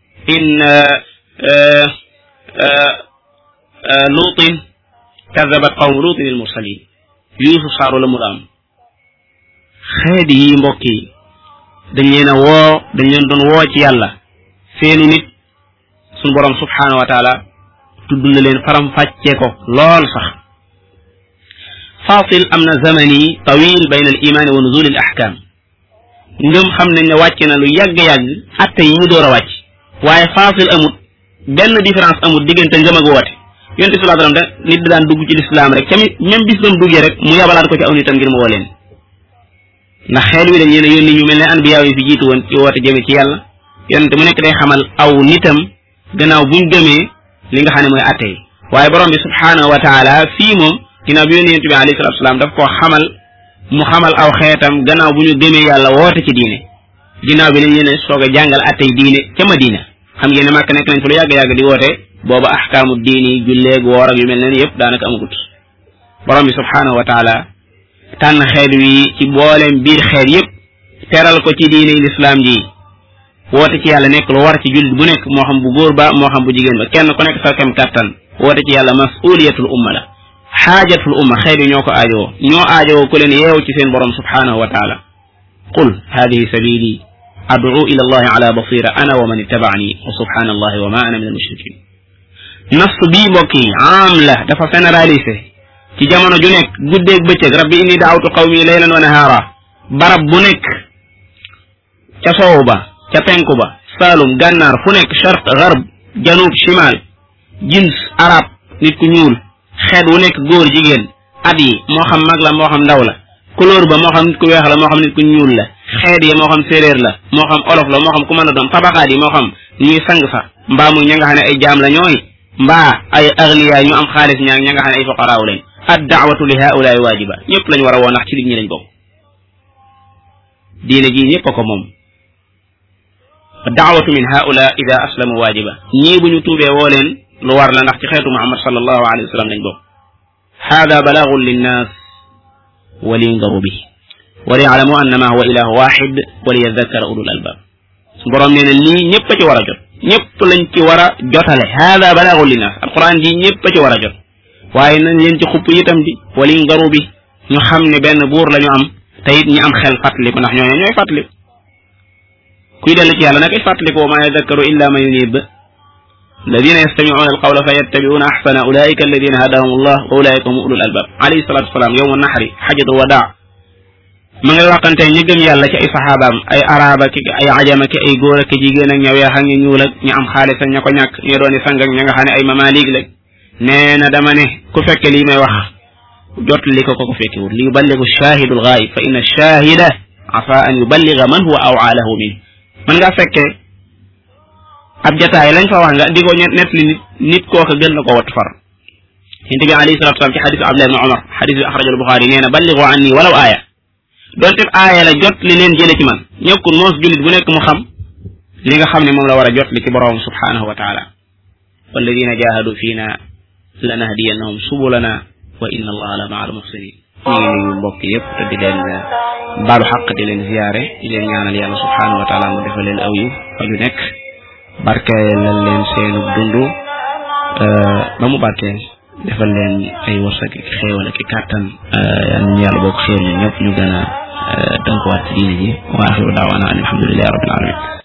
luutin kazabat qawmu luutin al mursalin Yuusuf saaru la mu am xeet yi mbokk yi dañ leen doon woo ci yàlla seenu nit suñu borom subhanahu wa taala tudd na leen faram fàccee ko lool sax faasil am na zamani tawil bayna al imaani wa nuzul al ahkam ngëm xam nañ ne wàcc na lu yàgg-yàgg atte yi ñu door a wàcc waaye faasil amut benn différence amut diggante ngëm ak woote yonent bi sallallahu alayhi wasallam nit daan dugg ci lislaam rek tamit même bis bam duggee rek mu yabalaat ko ci aw nitam ngir mu woo leen ndax xeel wi dañ leen a yónni ñu mel ne anbiya yi fi jiitu woon ci woote jëme ci yàlla yonent mu nekk day xamal aw nitam gannaaw buñ gëmee li nga xam ne mooy atte yi waaye borom bi subhanahu wa taala fii moom ginnaaw bi yónni yonent bi alayhi salatu wasalaam daf koo xamal mu xamal aw xeetam gannaaw bu ñu gëmee yàlla woote ci diine ginnaaw bi lañ leen soog a jàngal attey diine ca Madina xam ngeen ne Makka nekk nañ fa lu yàgg-yàgg di woote booba ahkaamu diini julleeg woor ak yu mel ne yëpp daanaka amagut borom bi subhaanahu wa taala tànn xeet wi ci booleem biir xeet yëpp teral ko ci diine lislaam ji woote ci yàlla nekk lu war ci jullit bu nekk moo xam bu góor ba moo xam bu jigéen ba kenn ku nekk sa kem kàttan woote ci yàlla masuliyatul umma la xaajatul umma xeet wi ñoo ko aajowoo ñoo aajowoo ku leen yeew ci seen borom subhaanahu wa taala qul hadihi sabili ad'u ila allahi ala basira ana wa man ittaba'ani wa subhanallahi wa ma ana min al-mushrikin nas bii mbokk yi am la dafa généralisé ci jamono ju nekk guddeeg bëccëg rabbi inni da'awtu qawmi laylan wa nahara barab bu nekk ca soow ba ca penku ba saalum gànnaar fu nekk sharq garb janub shimal jins arab nit ku ñuul xeet wu nekk góor jigéen at yi moo xam mag la moo xam ndaw la couleur ba moo xam nit ku weex la moo xam nit ku ñuul la xeet yi moo xam séeréer la moo xam olof la moo xam ku mën a doon tabaqaat yi moo xam ñuy sang sax mbaa muy ña nga xam ne ay jaam la ñooy mbaa ay aghniya ñu am xaalis ñaag ña nga xam ne ay fuqaraaw lañ ad daawatu li haulaay waajiba ñëpp lañ war a woo ndax ci nit ñi lañ bokk diine ji ñëpp a ko moom daawatu min haula ida aslamu waajiba ñii bu ñu tuubee woo leen lu war la ndax ci xeetu Muhammad sallallahu alayhi wa sallam lañ bokk hada balaagun linnaas wa liyundaru bihi wa liya'lamu annama huwa ilahu wahid wa liyadhakkara ulul albab borom nee na lii ñëpp a ci war a jot ñëpp lañ ci war a jotale hada balaagun linnaas alquran ji ñëpp a ci war a jot waaye nañ leen ci xupp itam di wa liyundaru bihi ñu xam ne benn buur la ñu am te it ñi am xel fàttaliku ndax ñooy fàttaliku kuy dellu ci yàlla nag ay fàttaliku wa ma yadhakkaru illa man yunib الذين يستمعون القول فيتبعون أحسن أولئك الذين هداهم الله وأولئك هم أولو الألباب عليه الصلاة والسلام يوم النحر حجة الوداع من الوقت نجم يالا كي صحابة أي عرب أي عجم أي غور كي جيجينا نيويا حني نيولك نعم خالصا نيكو نيك يروني سانغك نيغا خاني أي مماليك لك نينا دماني كفك لي ما وخ جوت لي كو كفك ليبلغ الشاهد الغائب فإن الشاهد عفا أن يبلغ من هو أوعى له منه من غا فك ab jotaay lañ fa wax nga di ko net li nit kooka gën na ko wat far yonent bi alayhi salatu wasalam ci xadisu Abdullah ibn Umar xadis bi axrajahu al-Buxaari nee na balligu anni walaw aaya doonte aaya la jot li leen jële ci man ñëkkul moos jullit bu nekk mu xam li nga xam ne moom la war a jot li ci borom subhanahu wa taala walladina jahadu fiina lanahdiyannahum subulana wa inna allaha la maa al muhsinin ñu ngi nuyu mbokk yëpp te di leen baalu xaq di leen ziyaare di leen ñaanal yàlla subhanahu wa taala mu defal leen aw yiw fa ñu nekk barkeelal leen seenu dundu ba mu barkeel defal leen ay wërsëg ak xéewal ak kàttan yal nañu yàlla bokk xéewal ñun ñëpp ñu gën a tënkuwaat ci diine ji wa axiru daawaana alhamdulillahi rabbil alamin